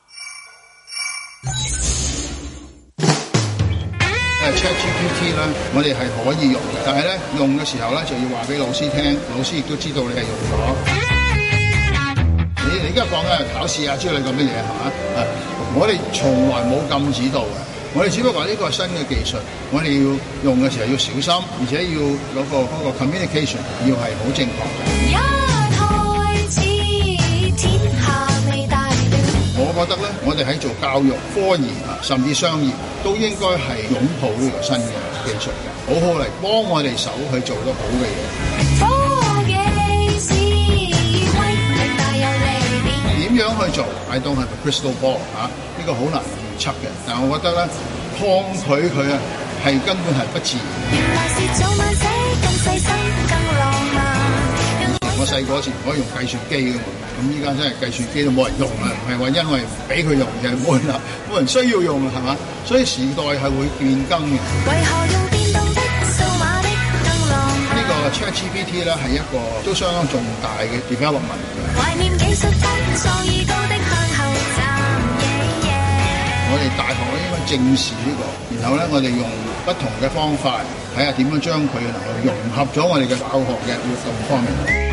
誒 ChatGPT 咧，我哋係可以用嘅，但係咧用嘅時候咧就要話俾老師聽，老師亦都知道你係用咗。你你而家講緊係考試啊之類咁嘅嘢係嘛？啊，我哋從來冇禁止到嘅，我哋只不過話呢個係新嘅技術，我哋要用嘅時候要小心，而且要嗰個嗰個 communication 要係好正確嘅。我覺得咧，我哋喺做教育、科研啊，甚至商業，都應該係擁抱呢個新嘅技術嘅，好好嚟幫我哋手去做得好嘅嘢。點樣去做 ？I don't have a crystal ball 嚇、啊，呢、這個好難預測嘅。但係我覺得咧，抗拒佢啊，係根本係不自然。我細個嗰時唔可以用計算機㗎嘛，咁依家真係計算機都冇人用啦，唔係話因為唔俾佢用，就係冇人啦，冇人需要用啦，係嘛？所以時代係會變更嘅。呢個 ChatGPT 咧係一個都相當重大嘅 development。我哋大學咧應該正視呢個，然後咧我哋用不同嘅方法睇下點樣將佢能夠融合咗我哋嘅教學嘅活動方面。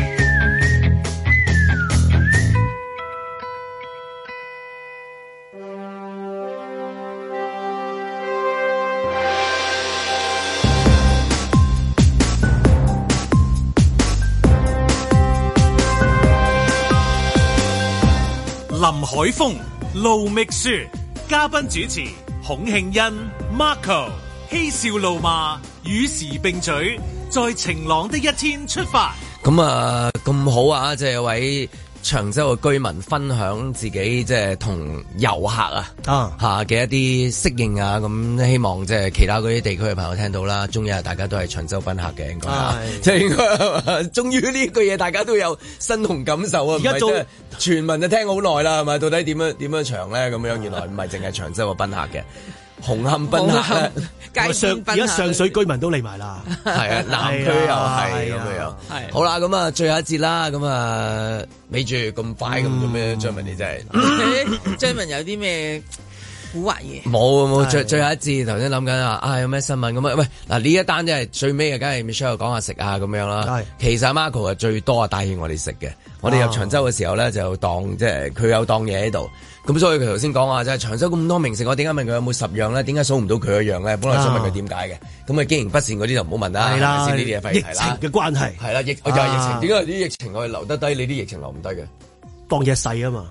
林海峰、盧覓雪，嘉賓主持孔慶欣、Marco， 嬉笑怒罵，與時並舉，在晴朗的一天出發。 咁啊，咁好啊！即係有位長洲嘅居民分享自己即係同遊客啊嚇嘅一啲適應啊，咁希望即係其他嗰啲地區嘅朋友聽到啦。終於大家都係長洲賓客嘅，應該即係應該。終於呢句嘢大家都有身同感受啊！而家做全民就聽好耐啦，係咪？到底點樣點樣長咧？咁樣原來唔係淨係長洲嘅賓客嘅。紅磡賓客咧， 上而家上水居民都嚟埋啦， 係啊，南區又係咁樣，係好啦，咁啊，最後一節啦，咁啊，咪住咁快咁做咩？張文你真係， 張文有啲咩古惑嘢？ 冇冇，最最後一節頭先諗緊啊，啊有咩新聞咁啊？喂，嗱呢一單即係最尾嘅，梗係 Michelle 講下食啊咁樣啦。其實 Marco 係最多啊帶起我哋食嘅。我哋入長洲嘅時候咧，就當即係佢有當嘢喺度。咁所以佢頭先講話，即係長洲咁多名食，我點解問佢有冇十樣咧？點解數唔到佢一樣咧？本來想問佢點解嘅，咁啊經營不善嗰啲就唔好問啦。係啦，先呢啲嘢費事啦。 疫情嘅關係係啦，疫就係疫情。點解啲疫情我哋留得低，你啲疫情留唔低嘅？ 當嘢細啊嘛。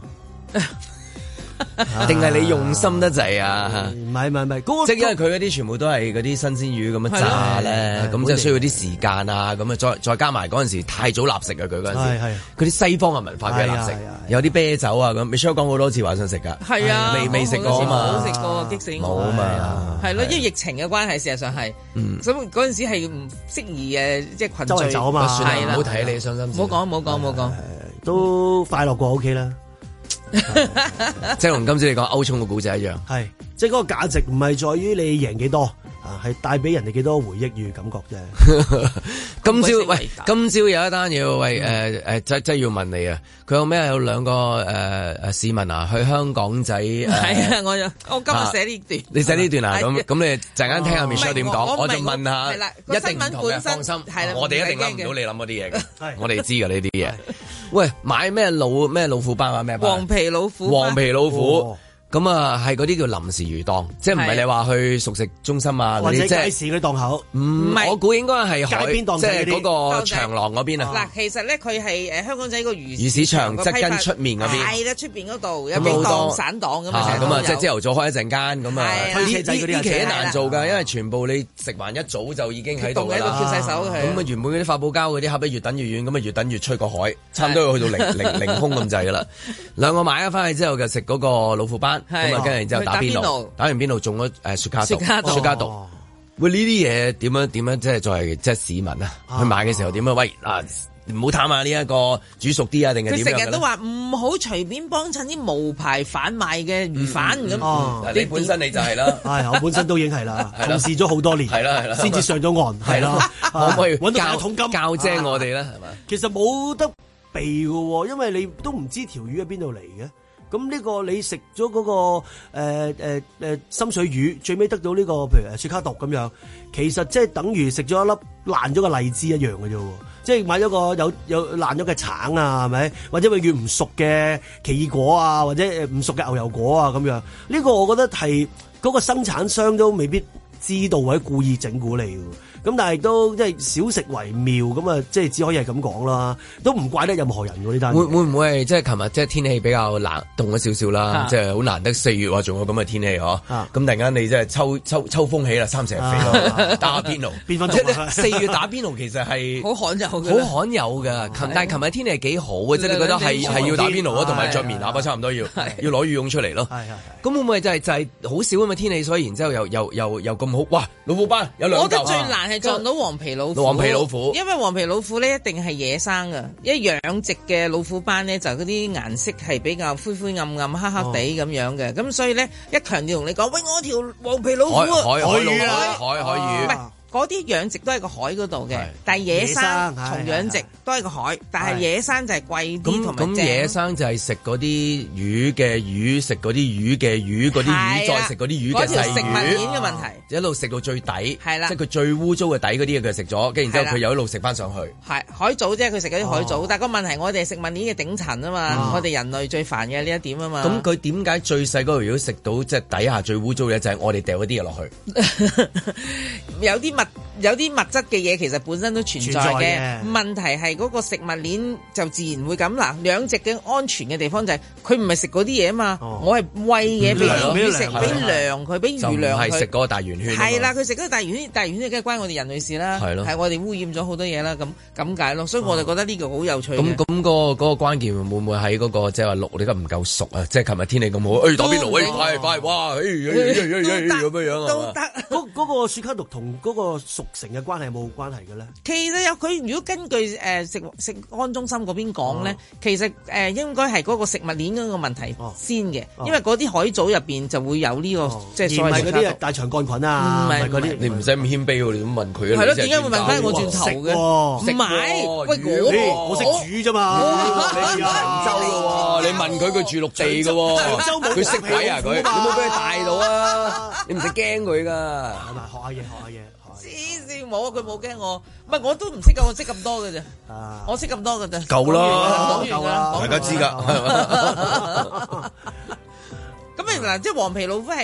定係你用心得滯啊？ 唔係唔係唔係， 即係因為佢嗰啲全部都係嗰啲新鮮魚咁樣炸咧，咁即係需要啲時間啊，咁啊再再加埋嗰陣時太早立食啊，佢嗰陣時，佢啲西方嘅文化嘅立食，有啲啤酒啊咁，Michelle講好多次話想食㗎， 係啊， 未未食過啊嘛， 冇食過，激死我， 冇啊嘛， 係咯，因為疫情嘅關係，事實上係，咁嗰陣時係唔適宜誒，即係群聚走啊嘛， 係啦，唔好睇你傷心， 唔好講唔好講唔好講， 都快樂過 OK 啦。 即係同今朝你講歐聰嘅故仔一樣， 係即係嗰個價值唔係在於你贏幾多啊，係帶俾人哋幾多回憶與感覺啫。 今朝喂，今朝有一單嘢喂，誒誒，即即係要問你啊，佢有咩有兩個誒誒市民啊去香港仔，係啊，我我今日寫呢段， 你寫呢段啊，咁咁你陣間聽下 Michelle 點講，我就問下，一定唔同嘅，放心，我哋一定諗唔到你諗嗰啲嘢嘅，我哋知㗎呢啲嘢。喂，買咩老咩老虎斑啊？咩黃皮老虎， 黃皮老虎。咁啊，係嗰啲叫臨時魚檔，即係唔係你話去熟食中心啊嗰啲，即係街市嗰啲檔口。 唔係，我估應該係街邊檔， 即係嗰個長廊嗰邊啊。 嗱，其實咧佢係誒香港仔個魚魚市場側跟出面嗰邊。 係啦，出邊嗰度有幾檔散檔咁啊。 咁啊，即係朝頭早開一陣間咁啊。 推車仔嗰啲呢期都難做㗎，因為全部你食完一早就已經喺度㗎啦。 叫晒手佢。 咁啊，原本嗰啲發泡膠嗰啲盒咧越等越遠，咁啊越等越吹個海，差唔多要去到零零零空咁滯㗎啦。兩個買咗翻去之後就食嗰個老虎斑，咁啊跟住然之後。打邊爐，打完邊爐中咗誒雪茄毒，雪茄毒。喂，呢啲嘢點樣點樣即係作為即係市民啊？去買嘅時候點樣？喂嗱，唔好貪啊！呢一個煮熟啲啊，定係點樣？ 佢成日都話唔好隨便幫襯啲無牌販賣嘅魚販咁。 你本身你就係啦， 係我本身都已經係啦，從事咗好多年， 係啦係啦， 先至上咗岸，係啦。 可唔可以揾到一桶金教精我哋咧？係嘛？ 其實冇得避㗎喎，因為你都唔知條魚喺邊度嚟嘅。咁呢個你食咗嗰個誒誒誒深水魚，最尾得到呢個譬如誒雪茄毒咁樣，其實即係等於食咗一粒爛咗嘅荔枝一樣嘅啫喎，即係買咗個有有爛咗嘅橙啊，係咪？或者永遠唔熟嘅奇異果啊，或者誒唔熟嘅牛油果啊咁樣，呢個我覺得係嗰個生產商都未必知道或者故意整蠱你嘅。咁但係都即係少食為妙，咁啊即係只可以係咁講啦，都唔怪得任何人喎呢單。 會會唔會係即係琴日即係天氣比較冷凍咗少少啦，即係好難得四月話仲有咁嘅天氣嗬。咁突然間你即係秋秋秋風起啦，三蛇肥咯，打邊爐變翻凍。四月打邊爐其實係好罕有， 好罕有㗎。琴但係琴日天氣係幾好嘅，即係你覺得係係要打邊爐啊，同埋着棉衲差唔多要要攞羽絨出嚟咯。咁會唔會就係就係好少咁嘅天氣，所以然之後又又又又咁好？哇！老虎斑有兩嚿。我覺得最難係撞到黃皮老虎， 黃皮老虎， 因為黃皮老虎咧一定係野生噶，一養殖嘅老虎斑咧就嗰啲顏色係比較灰灰暗暗、黑黑地咁樣嘅，咁、哦、所以咧一強調同你講，喂，我條黃皮老虎啊， 海海魚啊，海海魚， 唔係嗰啲養殖都係個海嗰度嘅，但係野生同養殖都係個海，但係野生就係貴啲同埋正。 咁野生就係食嗰啲魚嘅魚，食嗰啲魚嘅魚，嗰啲魚再食嗰啲魚嘅細魚。嗰條食物鏈嘅問題，一路食到最底，係啦，即係佢最污糟嘅底嗰啲嘢佢食咗，跟住然之後佢又一路食翻上去。係海藻啫，佢食嗰啲海藻，但係個問題我哋食物鏈嘅頂層啊嘛，我哋人類最煩嘅呢一點啊嘛。咁佢點解最細嗰條魚食到即係底下最污糟嘅就係我哋掉嗰啲嘢落去？ 有啲物有啲物質嘅嘢其實本身都存在嘅，問題係嗰個食物鏈就自然會咁啦。養殖嘅安全嘅地方就係佢唔係食嗰啲嘢啊嘛，我係餵嘢俾魚食，俾糧佢，俾魚糧佢。就唔係食嗰個大圓圈。係啦，佢食嗰個大圓圈，大圓圈梗係關我哋人類事啦。係咯，係我哋污染咗好多嘢啦，咁咁解咯。所以我就覺得呢個好有趣。 咁咁個嗰個關鍵會唔會喺嗰個即係話淥你得唔夠熟啊？即係琴日天氣咁好，誒打邊爐，誒快快哇，誒咁樣樣啊嘛。 嗰嗰個雪茄毒同嗰個熟成嘅關係冇關係嘅咧？ 其實有佢如果根據誒、呃、食食安中心嗰邊講咧，哦、其實誒、呃、應該係嗰個食物鏈嗰個問題先嘅，哦、因為嗰啲海藻入邊就會有呢、這個、哦、即係所謂嗰啲大腸桿菌啊，唔係嗰啲， 你唔使咁謙卑喎，你咁問佢啊？ 係咯，點解會問翻我轉頭嘅？唔係，喂我我識煮啫嘛，你長洲嘅喎， 你問佢佢住陸地嘅喎，佢識睇啊佢，你冇俾佢大到啊，你唔使驚佢噶， 學下嘢學下嘢。 黐線冇啊！佢冇驚我，唔係我都唔識噶，我識咁多嘅啫，我識咁多嘅啫， 夠啦， 夠啦， 大家知噶。 咁啊嗱，即係黃皮老虎係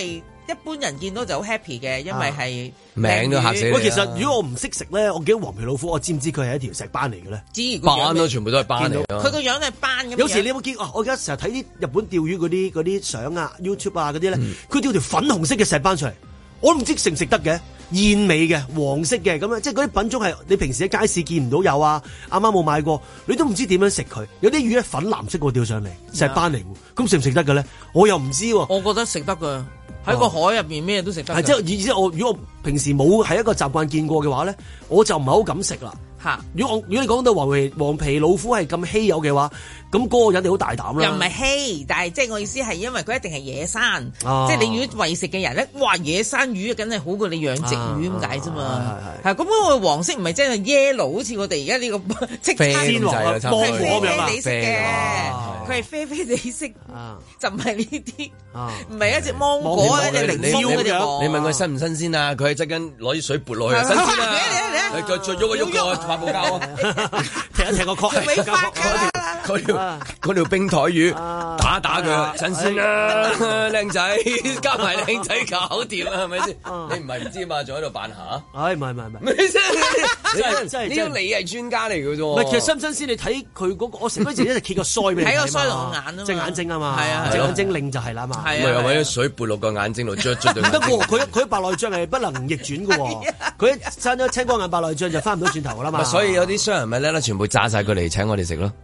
一般人見到就好 happy 嘅，因為係名都嚇死你。 喂，其實如果我唔識食咧，我見到黃皮老虎，我知唔知佢係一條石斑嚟嘅咧？ 知斑咯，全部都係斑嚟。 佢個樣係斑咁。 有時你有冇見？我而家成日睇啲日本釣魚嗰啲嗰啲相啊 ，YouTube 啊嗰啲咧，佢釣條粉紅色嘅石斑出嚟，我都唔知食唔食得嘅。燕尾嘅黃色嘅咁樣，即係嗰啲品種係你平時喺街市見唔到有啊，啱啱冇買過，你都唔知點樣食佢。有啲魚咧粉藍色個釣上嚟，石斑嚟，咁食唔食得嘅咧？我又唔知喎。 我覺得食得㗎，喺個海入邊咩都食得。 係即係，而且我如果我平時冇係一個習慣見過嘅話咧，我就唔係好敢食啦。嚇！如果我如果你講到黃皮黃皮老虎係咁稀有嘅話，咁嗰個人哋好大膽啦。 又唔係稀，但係即係我意思係因為佢一定係野生， 啊、 即係你如果餵食嘅人咧，哇野生魚梗係好過你養殖魚咁解啫嘛。係咁嗰個黃色唔係真係 yellow， 好似我哋而家呢個即係鮮黃啊， 芒果咁樣啡啡地色嘅，佢係啡啡地色，就唔係呢啲，唔係一隻芒果一隻檸檬嗰隻。 你問佢新唔新鮮啊？佢係側緊攞啲水撥落去，新鮮啊！你佢再喐一喐個發泡膠啊， 踢一踢個殼， 嗰條嗰條冰台魚打打佢，新鮮啦，靚仔加埋靚仔搞掂啦，係咪先？你唔係唔知嘛？仲喺度扮下？ 唉，唔係唔係唔係， 你真係真係，呢個你係專家嚟嘅啫。 唔係，其實新唔新鮮？你睇佢嗰個，我食嗰陣時一直揭個腮俾你睇， 睇個腮同眼啊， 隻眼睛啊嘛， 係啊， 隻眼睛令就係啦嘛， 係啊，揾啲水撥落個眼睛度，捽捽對。 唔得喎，佢佢白內障係不能逆轉嘅喎，佢一生咗青光眼白內障就翻唔到轉頭噶啦嘛。 所以有啲商人咪咧，全部炸晒佢嚟請我哋食咯。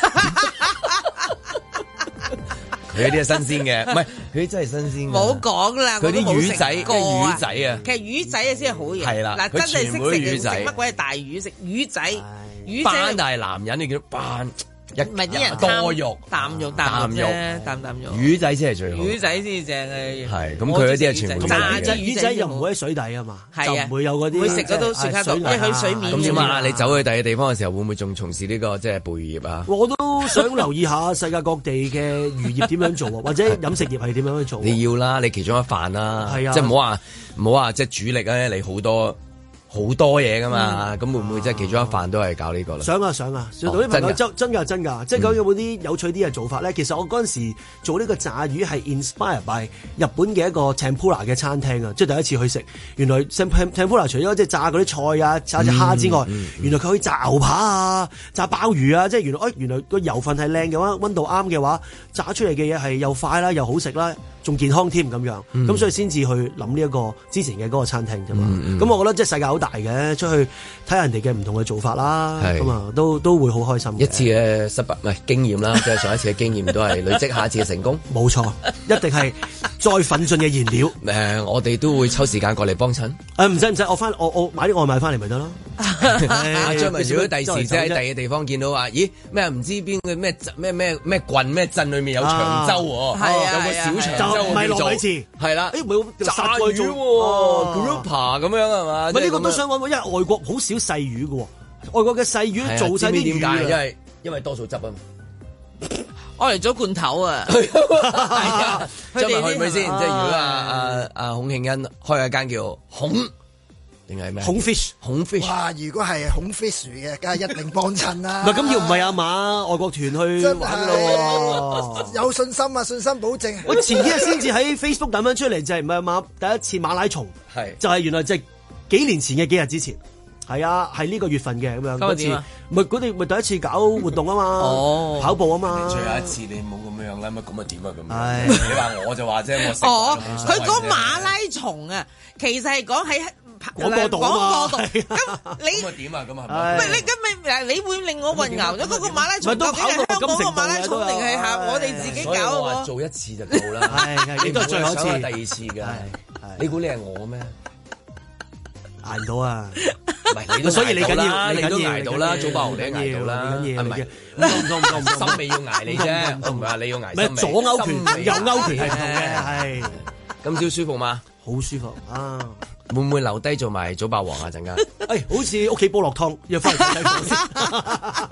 佢啲係新鮮嘅，唔係佢啲真係新鮮嘅。 冇講啦， 佢啲魚仔， 個魚仔啊， 其實魚仔啊先係好嘢。 係啦， 嗱真係識食魚仔， 乜鬼係大魚食魚仔？魚仔斑但係男人你叫斑。 唔係啲人多肉， 啖肉啖肉啫，啖啖肉。 魚仔先係最好， 魚仔先正嘅。 係咁，佢嗰啲係全部炸隻魚仔又唔會喺水底啊嘛，就唔會有嗰啲。 會食嗰都雪卡度，一去水面。 咁點啊？你走去第二地方嘅時候，會唔會仲從事呢個即係捕魚業啊？ 我都想留意下世界各地嘅漁業點樣做，或者飲食業係點樣去做。 你要啦，你其中一範啦， 係啊， 即係唔好話唔好話即係主力咧，你好多。好多嘢噶嘛，咁、嗯、會唔會即係其中一範都係搞呢個咧？ 想啊想啊，做到啲朋友真真㗎真㗎，即係講有冇啲有趣啲嘅做法咧？嗯、其實我嗰陣時做呢個炸魚係 inspire by 日本嘅一個 tempura 嘅餐廳啊，即係第一次去食，原來 tempura 除咗即係炸嗰啲菜啊、炸隻蝦之外，嗯嗯嗯、原來佢可以炸牛扒啊、炸鮑魚啊，即係原來誒原來個油份係靚嘅話，溫度啱嘅話，炸出嚟嘅嘢係又快啦，又好食啦。仲健康添咁樣，咁、嗯、所以先至去諗呢一個之前嘅嗰個餐廳啫嘛。咁、嗯嗯、我覺得即係世界好大嘅，出去睇人哋嘅唔同嘅做法啦，咁啊都都會好開心。 一次嘅失敗唔係經驗啦，即係上一次嘅經驗都係累積下一次嘅成功。 冇錯，一定係再奮進嘅燃料。 誒、呃，我哋都會抽時間過嚟幫襯。 誒唔使唔使，我翻我我買啲外賣翻嚟咪得咯。 阿張文，如果第時即係喺第二地方見到話，咦咩唔知邊個咩咩咩咩郡咩鎮裏面有長洲喎， 係啊， 有個小長洲。 唔係糯米糍， 係啦， 誒唔係炸魚喎 grouper 咁樣係嘛？ 唔係呢個都想講，因為外國好少細魚嘅喎，外國嘅細魚做晒啲魚， 點解？因為因為多數汁啊嘛， 我嚟咗罐頭啊， 係啊，張文去唔去先？即係如果阿阿阿孔慶欣開一間叫孔。定係咩？孔 fish，孔 fish。 哇！如果係孔 fish 嘅，梗係一定幫襯啦。 唔係咁要唔係啊嘛？外國團去玩咯， 有信心啊，信心保證。 我前幾日先至喺 Facebook 抌翻出嚟，就係唔係馬第一次馬拉松，係就係原來就係幾年前嘅幾日之前，係啊，係呢個月份嘅咁樣。嗰次咪佢哋咪第一次搞活動啊嘛，哦，跑步啊嘛。 最後一次你冇咁樣啦，乜咁啊點啊咁樣？你話我就話啫，我食哦，佢講馬拉松啊，其實係講喺。 廣播度啊嘛， 咁你咁啊點啊咁啊， 唔係你咁咪嗱，你會令我混淆咗嗰個馬拉松究竟係香港個馬拉松定係下我哋自己搞嘅？ 我話做一次就夠啦， 你都係最後一次， 第二次嘅。你估你係我咩？ 捱唔到啊！ 唔係你都，所以你緊要，你都捱到啦，早爆紅你都捱到啦，係咪？唔同唔同唔同，心尾要捱你啫，我唔係話你要捱心尾。 左勾拳、右勾拳係唔同嘅，係。 今朝舒服嗎？ 好舒服啊！ 會唔會留低做埋早霸王啊？陣間， 誒，好似屋企煲落湯，又翻嚟睇睇先。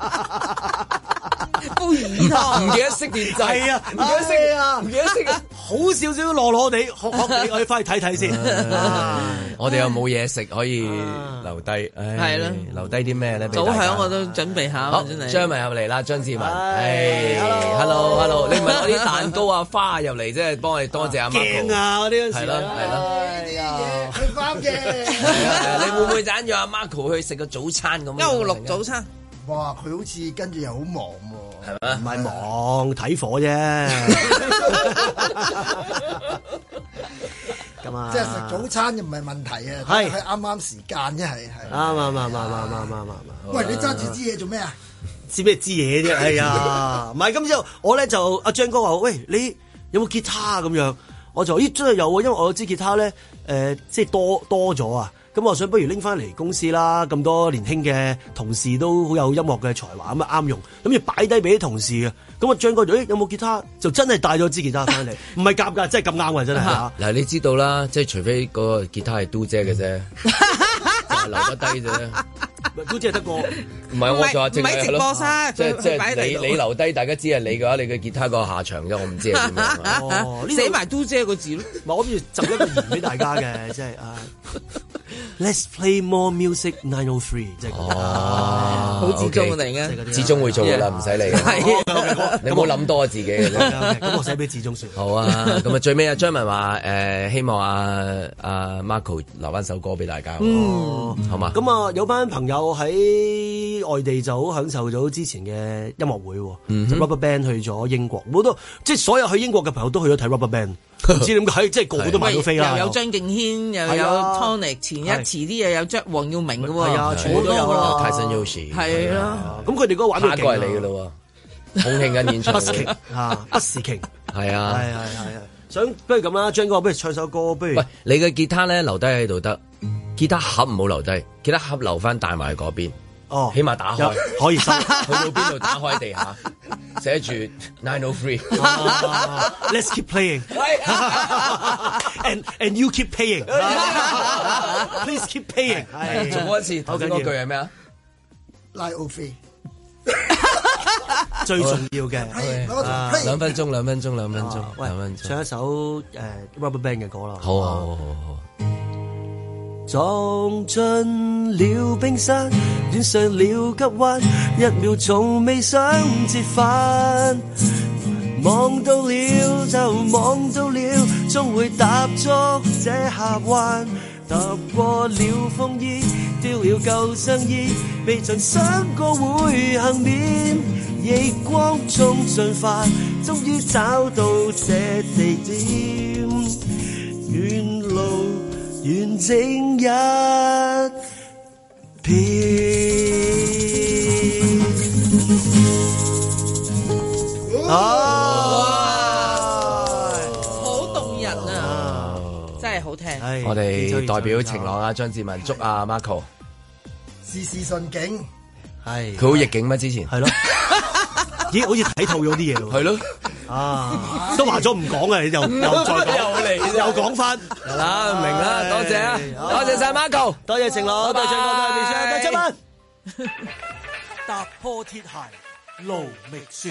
煲魚湯， 唔記得熄電掣， 係啊， 唔記得熄啊，唔記得熄啊， 好好少少落落地，學學你，我哋翻去睇睇先。 我哋又冇嘢食可以留低，係啦， 留低啲咩咧？ 早響我都準備下。 好，張文入嚟啦，張志文，係 ，hello，hello，你唔係攞啲蛋糕啊、花入嚟，即係幫我哋多謝阿 Marco 鏡啊嗰啲， 係咯係咯， 佢翻嘅。 你會唔會揀約阿 Marco 去食個早餐咁？ 休六早餐。 哇！佢好似跟住又好忙喎， 係咪？ 唔係忙睇火啫。咁啊， 即係食早餐又唔係問題啊， 係係啱啱時間啫，係係。 啱啱啱啱啱啱啱啱。 喂，你揸住支嘢做咩啊？ 知咩支嘢啫？哎呀，唔係咁之後，我咧就阿張哥話：喂，你有冇吉他咁樣？我就咦真係有喎，因為我支吉他咧，誒、呃、即係多多咗啊。咁我想不如拎翻嚟公司啦，咁多年輕嘅同事都好有音樂嘅才華，咁啊啱用，咁要擺低俾啲同事嘅。咁啊張哥就誒有冇吉他？就真係帶咗支吉他翻嚟，唔係夾㗎，真係咁啱㗎，真係。 嗱，你知道啦，即係除非嗰個吉他係嘟姐嘅啫，就係留得低啫。 嘟姐得個， 唔係我就話正係咯，即係即係你你留低，大家知係你嘅話，你嘅吉他個下場啫，我唔知係點樣。 哦， 寫埋嘟姐個字咯， 我諗住集一個言俾大家嘅，即係啊。Let's play more music nine oh three， 即係哦， 好自中嚟嘅， 志忠會做噶啦，唔使理。你冇諗多自己嘅啫。 咁我寫俾志忠算。 好啊，咁啊最尾啊張文話誒希望阿阿 Marco 留翻首歌俾大家。嗯，好嘛。 咁啊有班朋友喺外地就好享受咗之前嘅音樂會，就 Rubberband 去咗英國，好多即係所有去英國嘅朋友都去咗睇 Rubberband。唔知點解，即係個個都買到飛啦。 又有張敬軒，又有 Tonic，前一遲啲又有張黃耀明嘅喎。 係啊，全部都有啦。 泰森 Yoshi 係啦。 咁佢哋嗰個玩到勁。下個係你嘅咯喎，重慶緊演唱會。 Busking 啊，Busking 係啊， 係係係啊。想不如咁啦，張哥，不如唱首歌，不如。 喂，你嘅吉他咧留低喺度得，吉他盒唔好留低，吉他盒留翻帶埋嗰邊。 哦， 起碼打開可以收， 去到邊度打開地下，寫住 nine oh three。 Let's keep playing， and and you keep paying。Please keep paying。 重播一次，頭先嗰句係咩啊 ？nine oh three。 最重要嘅， 兩分鐘，兩分鐘，兩分鐘，兩分鐘。 唱一首誒 Rubberband 嘅歌啦。 好啊，好好好。 撞進了冰山，戀上了急彎，一秒從未想折返。望到了就望到了，終會踏足這峽灣。踏過了風衣，丟了舊上衣，未曾想過會幸免。逆光中進化，終於找到這地點，遠路完整一片。 哇！好動人啊，真係好聽。 我哋代表晴朗啊，張志文祝阿 Marco 事事順境。 係佢好逆境咩？之前係咯， 咦？好似睇透咗啲嘢咯。 係咯。 啊！都話咗唔講啊，你又又再講， 又嚟， 又講翻， 係啦，明啦，多謝啊，多謝晒 Marco， 多謝晴朗，多謝多謝電視，多謝班。踏破鐵鞋路未雪。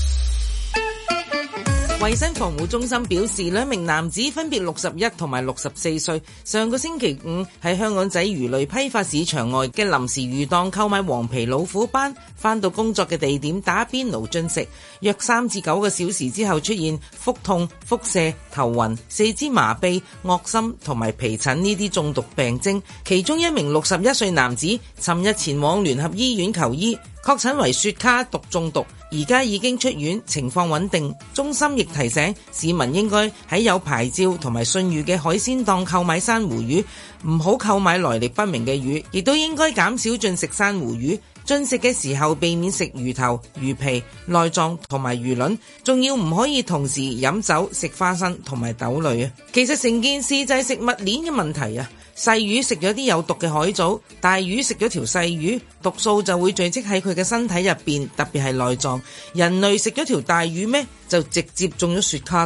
衛生防護中心表示，兩名男子分別六十一同埋六十四歲，上個星期五喺香港仔魚類批發市場外嘅臨時魚檔購買黃皮老虎斑，返到工作嘅地點打邊爐進食，約三至九個小時之後出現腹痛、腹瀉、頭暈、四肢麻痹、噁心同埋皮疹呢啲中毒病徵。其中一名六十一歲男子尋日前往聯合醫院求醫，確診為雪卡毒中毒，而家已經出院，情況穩定。中心亦提醒市民應該喺有牌照同埋信譽嘅海鮮檔購買珊瑚魚，唔好購買來歷不明嘅魚，亦都應該減少進食珊瑚魚。進食嘅時候避免食魚頭、魚皮、內臟同埋魚卵，仲要唔可以同時飲酒、食花生同埋豆類啊！其實成件事就係食物鏈嘅問題啊！細魚食咗啲有毒嘅海藻，大魚食咗條細魚，毒素就會聚積喺佢嘅身體入邊，特別係內臟。人類食咗條大魚咩，就直接中咗雪卡毒。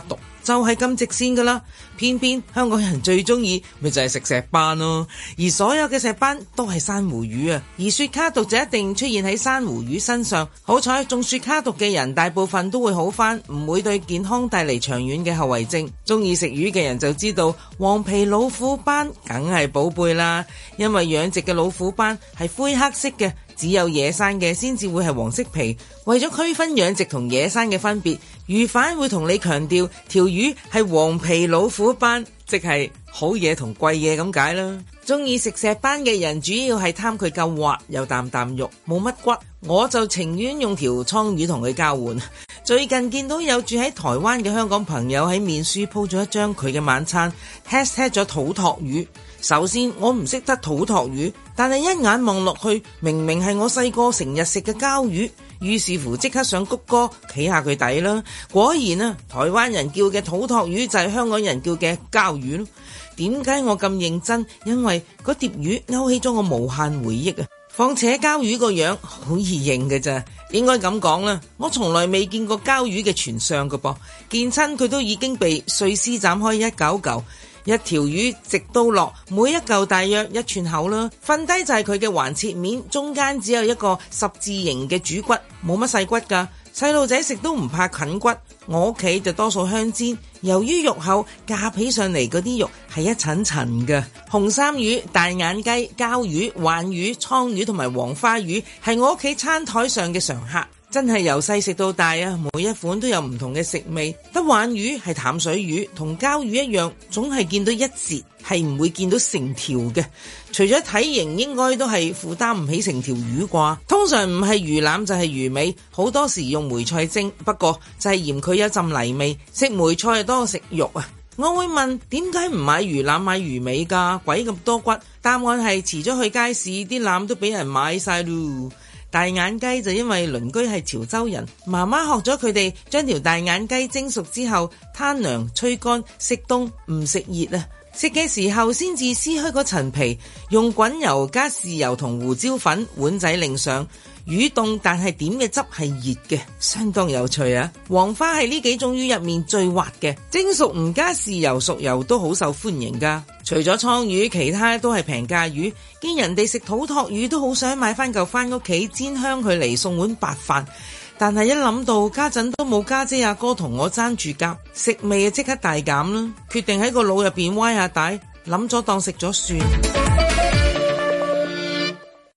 就係咁直線噶啦。偏偏香港人最中意咪就係食石斑咯，而所有嘅石斑都係珊瑚魚啊，而雪卡毒就一定出現喺珊瑚魚身上。好彩中雪卡毒嘅人大部分都會好返，唔會對健康帶嚟長遠嘅後遺症。中意食魚嘅人就知道黃皮老虎斑梗係寶貝啦，因為養殖嘅老虎斑係灰黑色嘅，只有野生嘅先至會係黃色皮。為咗區分養殖同野生嘅分別，魚販會同你強調條魚係黃皮老虎斑，即係好嘢同貴嘢咁解啦。中意食石斑嘅人主要係貪佢夠滑又啖啖肉，冇乜骨。我就情願用條倉魚同佢交換。最近見到有住喺台灣嘅香港朋友喺面書鋪咗一張佢嘅晚餐 hashtag 咗土托魚。首先我唔識得土托魚，但係一眼望落去明明係我細個成日食嘅膠魚，於是乎即刻上谷歌企下佢底啦。果然啊，台灣人叫嘅土托魚就係香港人叫嘅膠魚咯。點解我咁認真？因為嗰碟魚勾起咗我無限回憶啊！況且膠魚個樣好易認嘅咋，應該咁講啦。我從來未見過膠魚嘅全相㗎噃，見親佢都已經被碎絲斬開一嚿嚿。一條魚直到落，每一嚿大約一寸厚啦。瞓低就係佢嘅橫切面，中間只有一個十字形嘅主骨，冇乜細骨㗎。細路仔食都唔怕啃骨。我屋企就多數香煎，由於肉厚，夾起上嚟嗰啲肉係一層層嘅。紅衫魚、大眼雞、膠魚、鯇魚、倉魚同埋黃花魚係我屋企餐台上嘅常客。真係由細食到大啊！每一款都有唔同嘅食味。得鯇魚係淡水魚，同膠魚一樣，總係見到一截，係唔會見到成條嘅。除咗體型，應該都係負擔唔起成條魚啩。通常唔係魚腩就係魚尾，好多時用梅菜蒸，不過就係嫌佢有陣泥味。食梅菜多過食肉啊！我會問點解唔買魚腩買魚尾㗎？鬼咁多骨。答案係遲咗去街市，啲腩都俾人買晒咯。大眼雞就因為鄰居係潮州人，媽媽學咗佢哋將條大眼雞蒸熟之後攤涼吹乾，食凍唔食熱啊！食嘅時候先至撕開嗰層皮，用滾油加豉油同胡椒粉碗仔擰上。魚凍但係點嘅汁係熱嘅，相當有趣啊！黃花係呢幾種魚入面最滑嘅，蒸熟唔加豉油熟油都好受歡迎噶。除咗倉魚，其他都係平價魚。見人哋食土托魚都好想買翻嚿翻屋企煎香佢嚟送碗白飯，但係一諗到家陣都冇家姐阿哥同我爭住夾，食味啊即刻大減啦！決定喺個腦入邊歪下帶，諗咗當食咗算。